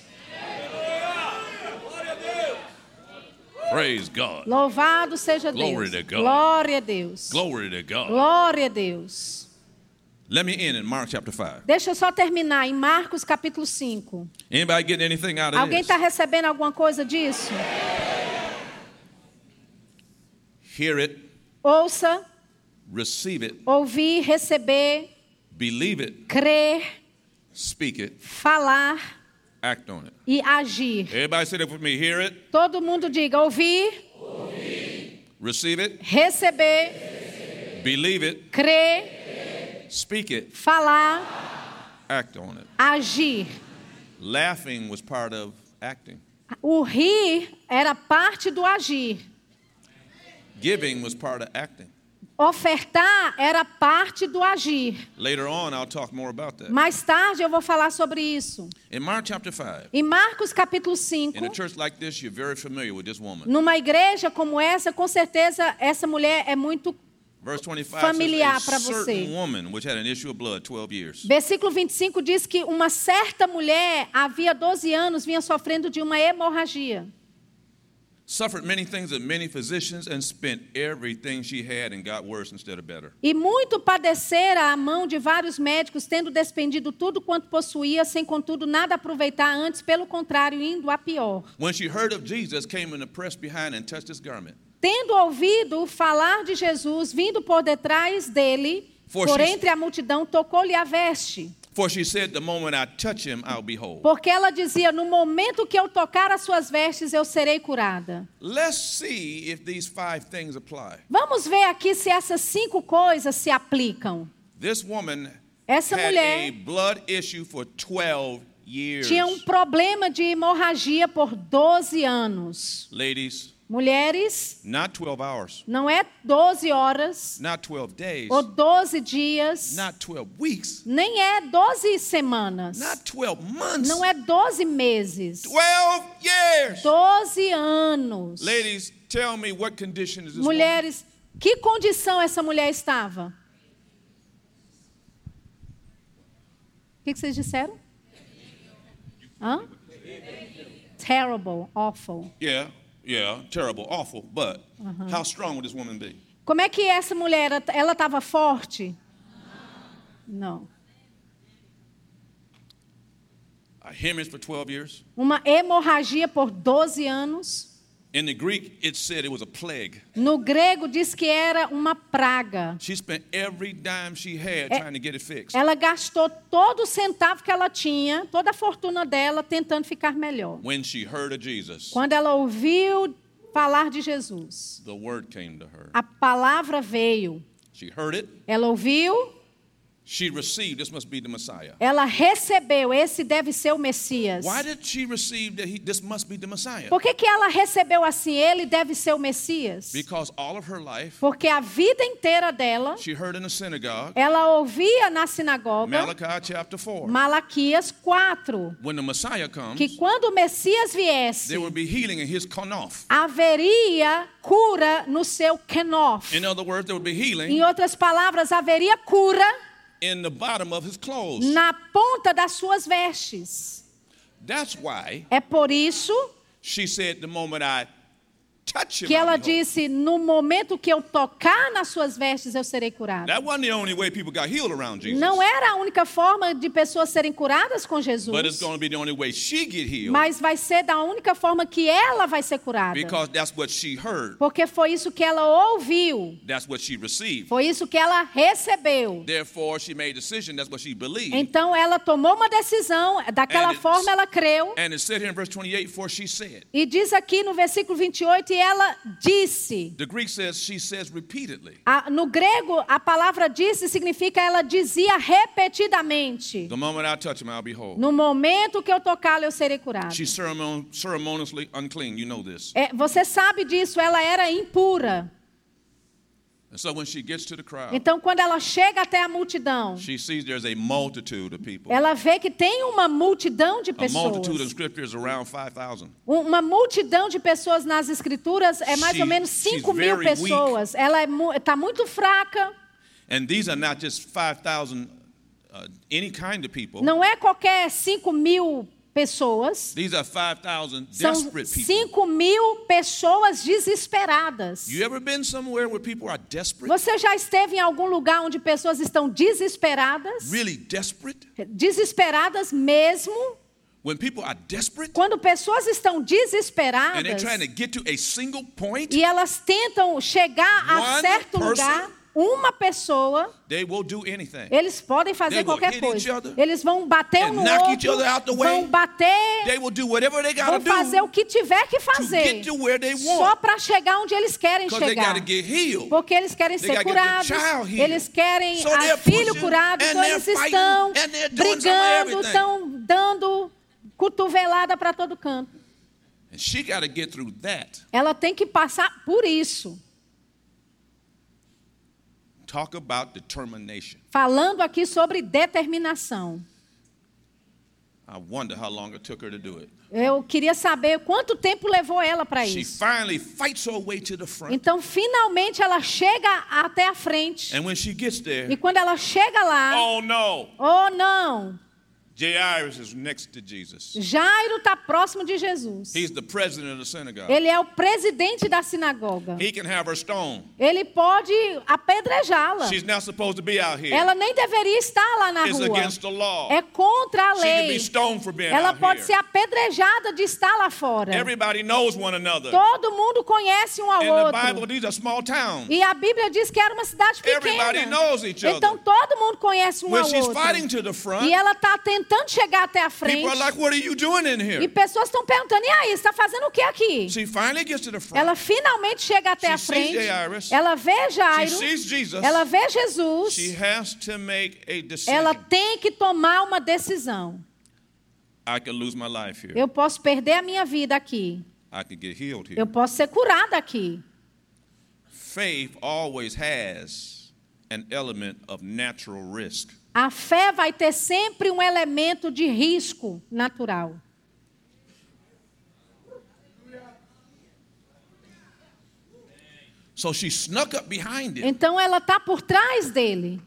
Praise God. Louvado seja Glory Deus. to God. Glória a Deus. Glory to God. Glória a Deus. Let me end in Mark chapter five. Deixa eu só terminar em Marcos capítulo cinco. Anybody getting anything out of Alguém this? está recebendo alguma coisa disso? Hear it, Ouça, receive it, ouvir, receber, believe it, crer, speak it, falar act on it. e agir. Everybody say that with me. Hear it, Todo mundo diga ouvir, receive it, receber, believe it, crer, speak it, falar, act on it. agir. Laughing was part of acting. O rir era parte do agir. Giving was part of acting. Ofertar era parte do agir. Later on, I'll talk more about that. Mais tarde eu vou falar sobre isso. In Mark chapter five, Em Marcos capítulo cinco, in a church like this, you're very familiar with this woman. numa igreja como essa, com certeza essa mulher é muito... Verse twenty-five familiar says, para a você. certain woman which had an issue of blood twelve years. Versículo vinte e cinco diz que uma certa mulher, havia doze anos, vinha sofrendo de uma hemorragia. Suffered many things of many physicians and spent everything she had and got worse instead of better. E muito padecera à mão de vários médicos, tendo despendido tudo quanto possuía, sem contudo nada aproveitar, antes pelo contrário, indo a pior. When she heard of Jesus, came in the press behind and touched his garment. Tendo ouvido falar de Jesus, vindo por detrás dele, For por she- entre a multidão, tocou-lhe a veste. For she said, the moment I touch him, I'll be whole. Porque ela dizia, no momento que eu tocar as suas vestes, eu serei curada. Let's see if these five things apply. Vamos ver aqui se essas cinco coisas se aplicam. This woman Essa had mulher a blood issue for twelve years. tinha um problema de hemorragia por doze anos. Ladies, Mulheres, not twelve hours, não é doze horas not twelve days, ou doze dias, not twelve weeks, nem é doze semanas, not twelve months, não é doze meses, twelve years. doze anos. Ladies, tell me what condition is this woman? Mulheres, que condição essa mulher estava? O que, que vocês disseram? Hã? Terrible, awful. Yeah, yeah, terrible, awful, but how strong would this woman be? Como é que essa mulher, ela estava forte? Não. A hemorrhage for twelve years. Uma hemorragia por doze anos. In the Greek, it said it was a plague. No grego diz que era uma praga. She spent every dime she had trying to get it fixed. Ela gastou todo o centavo que ela tinha, toda a fortuna dela, tentando ficar melhor. When she heard of Jesus, Quando ela ouviu falar de Jesus, the word came to her. a palavra veio. She heard it. Ela ouviu, She received, this must be the Messiah. ela recebeu, esse deve ser o Messias. Why did she receive that he, this must be the Messiah? Por que, que ela recebeu assim, ele deve ser o Messias? Because all of her life, Porque a vida inteira dela, she heard in the synagogue, ela ouvia na sinagoga, Malachi chapter four, Malaquias quatro, when the Messiah comes, que quando o Messias viesse, there will be healing in his konof. haveria cura no seu kenof. In other words, there will be healing Em outras palavras, haveria cura in the bottom of his clothes. na ponta das suas vestes. That's why É por isso she said, the moment I touch him, que ela I'll be whole. disse, no momento que eu tocar nas suas vestes, eu serei curada. That wasn't the only way people got healed around Jesus. Não era a única forma de pessoas serem curadas com Jesus, But it's going to be the only way she get healed. mas vai ser da única forma que ela vai ser curada. Because that's what she heard. Porque foi isso que ela ouviu, That's what she received. foi isso que ela recebeu. Therefore, she made a decision. That's what she believed. Então ela tomou uma decisão, daquela And it's- forma ela creu. And it said here in verse twenty-eight, for she said. E diz aqui no versículo vinte e oito, e ela disse. The Greek says she says repeatedly. A- no grego, a palavra disse significa ela dizia repetidamente. The moment I touch him, I'll be whole. No momento que eu tocá-lo, eu serei curado. She's ceremon- ceremoniously unclean. You know this. É, você sabe disso, ela era impura. And so when she gets to the crowd, Então, quando ela chega até a multidão, she sees there's a multitude of people. ela vê que tem uma multidão de A multitude in pessoas. Scripture is around five thousand. Uma multidão de pessoas nas escrituras é mais She- ou menos she's cinco mil very pessoas. Ela está muito fraca. And these are not just five thousand, uh, any kind of people. Não é qualquer cinco mil pessoas. These are five thousand São desperate people. cinco mil pessoas desesperadas. You ever been somewhere where people are desperate? Você já esteve em algum lugar onde pessoas estão desesperadas? Really desperate? Desesperadas mesmo? When people are desperate Quando pessoas estão and they're desesperadas trying to get to a single point, e elas tentam chegar a One certo person, lugar, uma pessoa, they will do anything. eles podem They fazer will qualquer hit coisa. each other Eles vão bater um and no knock each outro, other out the way. vão bater, They will do whatever they got vão to do fazer o que tiver que to fazer, get to where they só want. para chegar onde eles querem Because they got chegar. to get healed. Porque eles querem They ser gotta get the curados, child healed. eles querem So a they're filho pushing curado, and então they're eles fighting estão and they're doing some of brigando, everything. estão dando cotovelada para todo canto. And she got to get through that. Ela tem que passar por isso. Talk about determination. Falando aqui sobre determinação. I wonder how long it took her to do it. Eu queria saber quanto tempo levou ela para She isso. finally fights her way to the front. Então, finalmente, ela chega até a frente. And when she gets there, E quando ela chega lá, oh no, oh não, Jairus is next to Jesus. Jairo está próximo de Jesus. He's the president of the synagogue. Ele é o presidente da sinagoga. He can have her stoned. Ele pode apedrejá-la. She's not supposed to be out here. Ela nem deveria estar lá na It's rua. against the law. É contra a She can be lei. stoned for being Ela out pode here. ser apedrejada de estar lá fora. Everybody knows one another. Todo mundo conhece um ao In the outro. Bible, these are small towns. E a Bíblia diz que era uma cidade Everybody pequena. knows each other. Então todo mundo conhece um When ao she's outro. fighting to the front, E ela está tentando chegar até a frente. people are like, what are you doing in E here? pessoas estão perguntando, e aí, você está fazendo o que aqui? She finally gets to the front. Ela finalmente chega até She a frente. sees Jairus. Ela vê Jairo. She sees Jesus. Ela vê Jesus. She has to make a decision. Ela tem que tomar uma decisão. I could lose my life here. Eu posso perder a minha vida aqui. I could get healed here. Eu posso ser curada aqui. Faith always has an element of natural risk. A fé vai ter sempre um elemento de risco natural. So she snuck up behind him, Então ela está por trás dele.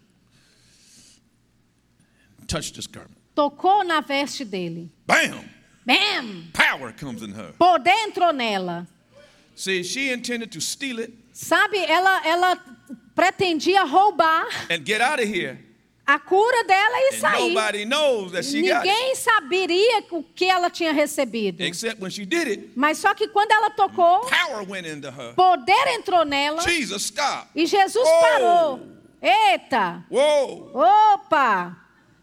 touched his garment. Tocou na veste dele. Bam! Bam! Power comes in her. Poder entrou nela. See, she intended to steal it Sabe, ela, ela pretendia roubar and get out of here. a cura dela e And sair. nobody knows that she got it. Ninguém saberia o que ela tinha recebido. Except when she did it, Mas só que quando ela tocou, power went into her. poder entrou nela Jesus, stop. e Jesus Oh! parou. Eita! Whoa, Opa!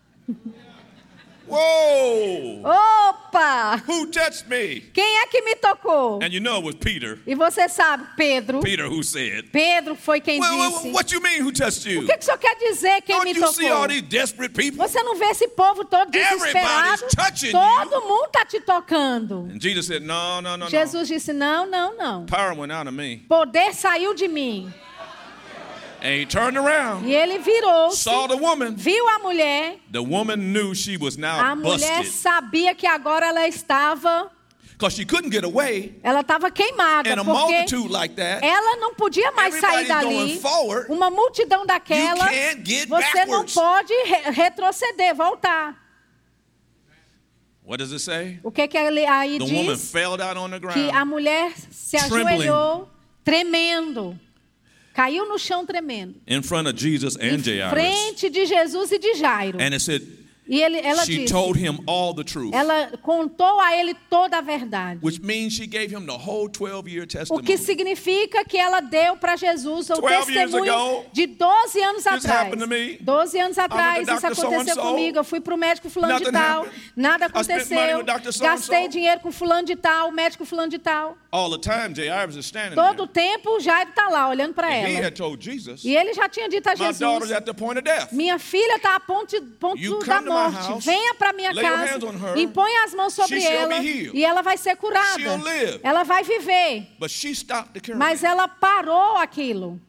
whoa. Opa! Who touched me? Quem é que me tocou? And you know it was Peter. E você sabe, Pedro. Peter who said, Pedro foi quem well, well, disse. what you mean who touched O you? que, que o senhor quer dizer quem me Don't you see all tocou? these desperate people? Você não vê esse povo todo desesperado? Everybody's touching Todo mundo está te tocando. And Jesus said, no, no, no, no. Jesus disse, não, não, não. Power went out of me. Poder saiu de mim. And he turned around, E ele virou-se, saw the woman. viu a mulher. The woman knew she was now A mulher busted sabia que agora ela estava, because she couldn't get away ela estava queimada, in a porque multitude like that. ela não podia mais sair Everybody's dali. going forward. Uma multidão daquela, You can't get você não backwards. pode re- retroceder, voltar. What does it say? O que que aí The woman diz? fell down on the Que a ground. mulher se Trembling. ajoelhou, tremendo. Caiu no chão tremendo. In front of Jesus and Em Jairus. frente de Jesus e de Jairo. And it said, E ele, ela she disse, told him all the truth. ela contou a ele toda a verdade. Which means she gave him the whole twelve-year O testimony. que significa que ela deu para Jesus o twelve years testemunho ago, de doze anos this atrás. happened to me. doze anos atrás the isso doctor aconteceu so-and-so. comigo. Eu fui para o médico fulano de Nothing tal. happened. Nada I spent money aconteceu. with doctor so-and-so. Gastei dinheiro com fulano de tal, médico fulano de tal. All the time, Jairus is standing Todo o there. tempo o Jairo está lá olhando para He ela. had told Jesus, E ele já tinha dito a my daughter's Jesus: at the point of death. minha filha está a ponto, ponto You da come to my morte. house, Venha para minha lay your casa, hands on her, impõe as mãos sobre she shall ela be healed. e ela vai ser curada. She'll live. Ela vai viver. But she stopped the cure. Mas ela parou aquilo.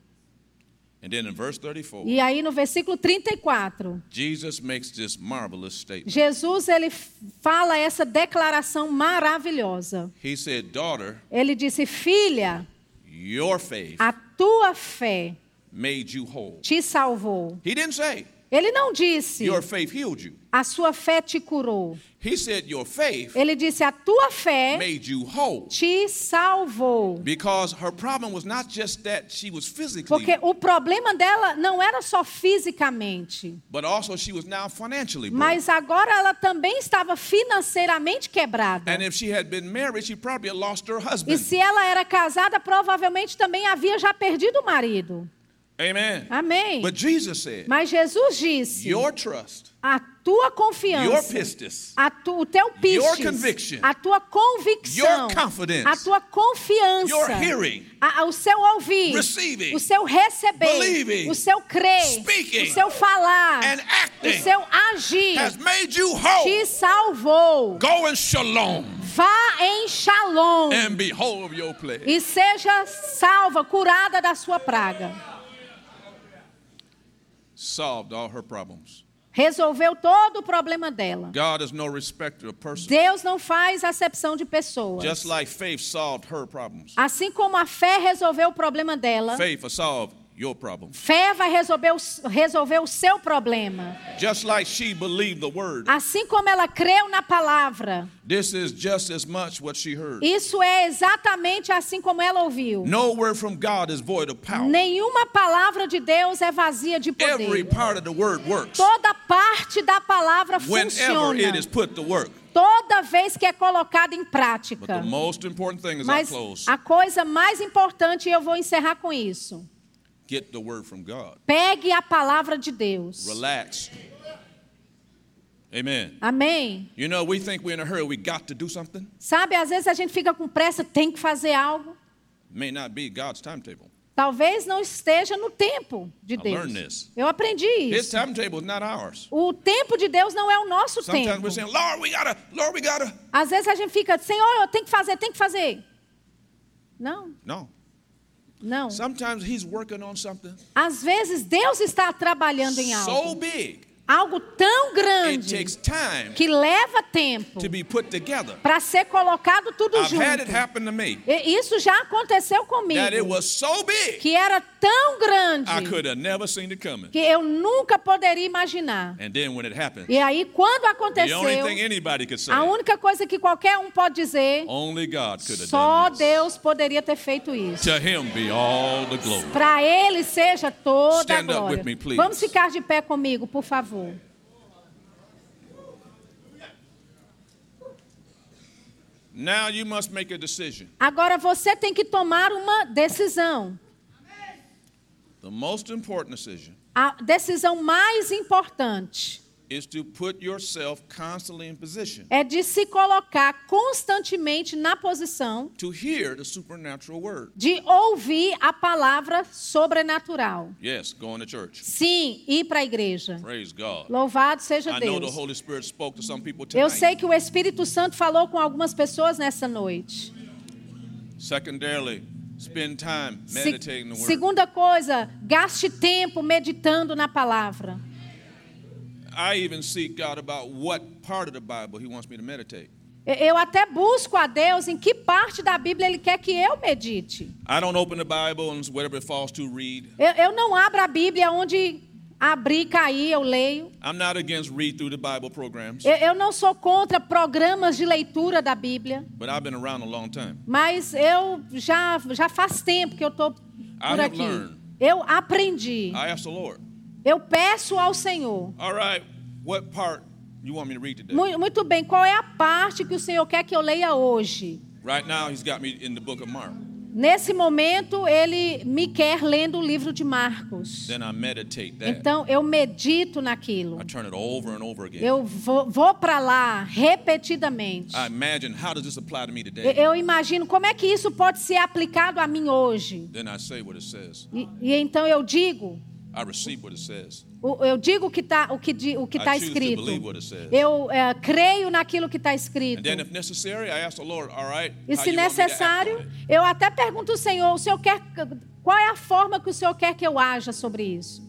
And then in verse thirty-four, E aí no versículo trinta e quatro, Jesus makes this marvelous statement. Jesus ele fala essa declaração maravilhosa. He said, daughter, Ele disse: filha, your faith a tua fé made you whole. te salvou. He didn't say, Ele não disse: your faith healed you. a sua fé te curou. He said, your faith Ele disse: a tua fé made you whole. te salvou. Because her problem was not just that she was physically, Porque o problema dela não era só fisicamente, but also she was now financially broke. mas agora ela também estava financeiramente quebrada. And if she had been married, she probably had lost her E husband. se ela era casada, provavelmente também havia já perdido o marido. Amen. Amém. But Jesus said, Mas Jesus disse: your trust, a tua your confiança, pistis, a tu, o teu Your pistis, conviction, a tua convicção, your confidence, a tua confiança, your hearing, a, a, o seu ouvir, receiving, o seu receber, believing, o seu crer, speaking, o seu falar, and o acting seu agir, has made you whole. te salvou. Go in shalom Vá em shalom and be whole of your plague. e seja salva, curada da sua praga. Solved all her problems. Resolveu todo o problema dela. God is no respecter of persons. Deus não faz acepção de pessoas. Just like faith solved her problems, Assim como a fé resolveu o problema dela, faith will solve your problems. fé vai resolver o, resolver o seu problema. Just like she believed the word, Assim como ela creu na palavra, this is just as much what she heard. isso é exatamente assim como ela ouviu. No word from God is void of power. Nenhuma palavra de Deus é vazia de Every poder. part of the word works Toda parte da palavra whenever it is funciona. put to work. Toda vez que é colocada em But prática. the most important thing is I Mas close. a coisa mais importante, e eu vou encerrar com isso: Get the word from God. pegue a palavra de Deus. Relax. Amen. Amém? You know, we think we're in a hurry. We got to do something. Sabe, às vezes a gente fica com pressa, tem que fazer algo. May not be God's timetable. Talvez não esteja no tempo de I Deus. learned this. Eu aprendi His isso. timetable is not ours. O tempo de Deus não é o nosso Sometimes tempo. we're saying, Lord, we gotta, Lord, we gotta. Às vezes a gente fica, Senhor, eu tenho que fazer, tem que fazer. Não, No. não. Sometimes he's working on something Às vezes Deus está trabalhando em so algo. big, Algo tão it grande takes time que leva tempo to be put together. para ser colocado tudo I've had it junto. happen to me. E isso já aconteceu comigo. That it was so big, Que era tão grande I could have never seen it coming. que eu nunca poderia imaginar. And then when it happened, E aí, quando the aconteceu, only thing anybody could say, a única coisa que qualquer um pode dizer, only God could have só done this. Deus poderia ter feito isso. To him be all the glory. Para Ele seja toda a Stand up glória. with me, please. Vamos ficar de pé comigo, por favor. Now you must make a decision. Agora você tem que tomar uma decisão. The most important decision A decisão mais importante is to put yourself constantly in position é de se colocar constantemente na posição to hear the supernatural word. de ouvir a palavra sobrenatural. Yes, going to church. Sim, ir para a igreja. Praise God. Louvado seja I know the Deus. Holy Spirit spoke to some people Eu sei tonight. que o Espírito Santo falou com algumas pessoas nessa noite. Secondarily, spend time Se- meditating the word. segunda coisa, gaste tempo meditando na palavra. I even seek God about what part of the Bible He wants me to meditate. Eu até busco a Deus em que parte da Bíblia Ele quer que eu medite. I don't open the Bible and whatever it falls to read. Eu, eu não abro a Bíblia onde abrir, cair, eu leio. I'm not against read through the Bible programs, Eu, eu não sou contra programas de leitura da Bíblia, but I've been around a long time. mas eu já, já faz tempo que eu estou por have aqui. learned. Eu aprendi. I asked the Lord, Eu peço ao Senhor. all right, what part you want me to read today? Mu- Muito bem, qual é a parte que o Senhor quer que eu leia hoje? Right now, he's got me in the book of Mark. Nesse momento, ele me quer lendo o livro de Marcos. Then I meditate that. Então, eu medito naquilo. I turn it over and over again. Eu vou, vou para lá repetidamente. I imagine, how does this apply to me Eu, today? eu imagino como é que isso pode ser aplicado a mim hoje. Then I say what it says. E, e então eu digo, I receive what it says. o- eu digo o que está o que, di- o que I tá choose to escrito. believe what it says. Eu é, creio naquilo que está And escrito. then, if necessary, I ask the Lord, all right, E how se you want me to act necessário, on it? eu até pergunto ao Senhor, o Senhor quer, qual é a forma que o Senhor quer que eu haja sobre isso?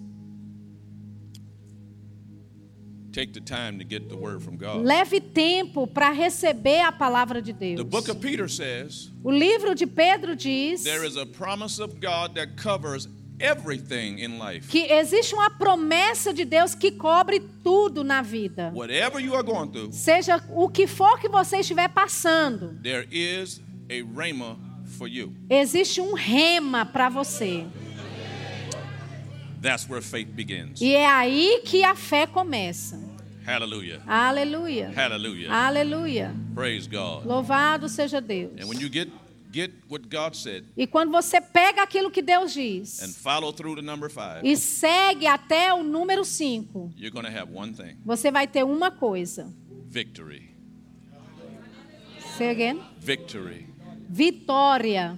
Take the time to get the word from God. Leve tempo para receber a palavra de Deus. The book of Peter says O livro de Pedro diz there is a promise of God that covers everything in life. que existe uma promessa de Deus que cobre tudo na vida. Whatever you are going through, Seja o que for que você estiver passando, there is a rhema for you. existe um rema para você. That's where faith begins. E é aí que a fé começa. Hallelujah. Aleluia. Hallelujah. Aleluia. Praise God. Louvado seja Deus. And when you get get what God said E quando você pega aquilo que Deus and diz follow through to number five, e segue até o número cinco, you're going to have one thing: você vai ter uma coisa. victory. Say again. Victory. Vitória.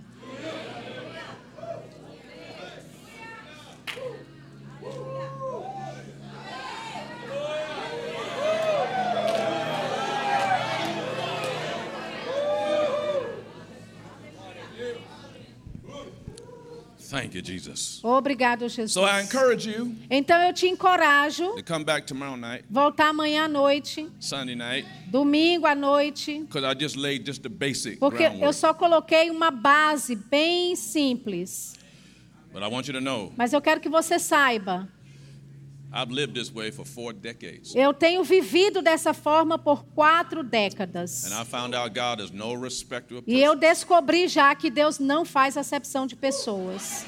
Thank you, Jesus. Obrigado, Jesus. So I encourage you Então eu te encorajo to come back tomorrow night, voltar amanhã à noite, Sunday night, domingo à noite, because I just laid just the basic porque eu groundwork. só coloquei uma base bem simples. But I want you to know, Mas eu quero que você saiba, I've lived this way for four decades. eu tenho vivido dessa forma por quatro décadas. And I found out God is no respecter of E eu persons. descobri já que Deus não faz acepção de pessoas.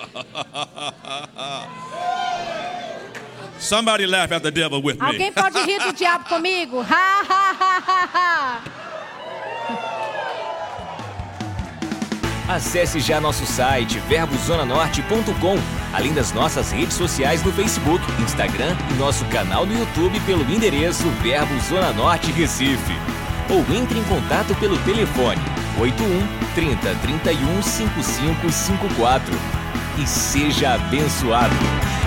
Somebody laugh at the devil with me. Alguém pode rir do diabo comigo? Ha, ha, ha, ha, ha. Acesse já nosso site verbo zona norte ponto com, além das nossas redes sociais no Facebook, Instagram e nosso canal no YouTube pelo endereço Verbo Zona Norte Recife. Ou entre em contato pelo telefone oito um, trinta, trinta e um, cinquenta e cinco cinquenta e quatro. E seja abençoado!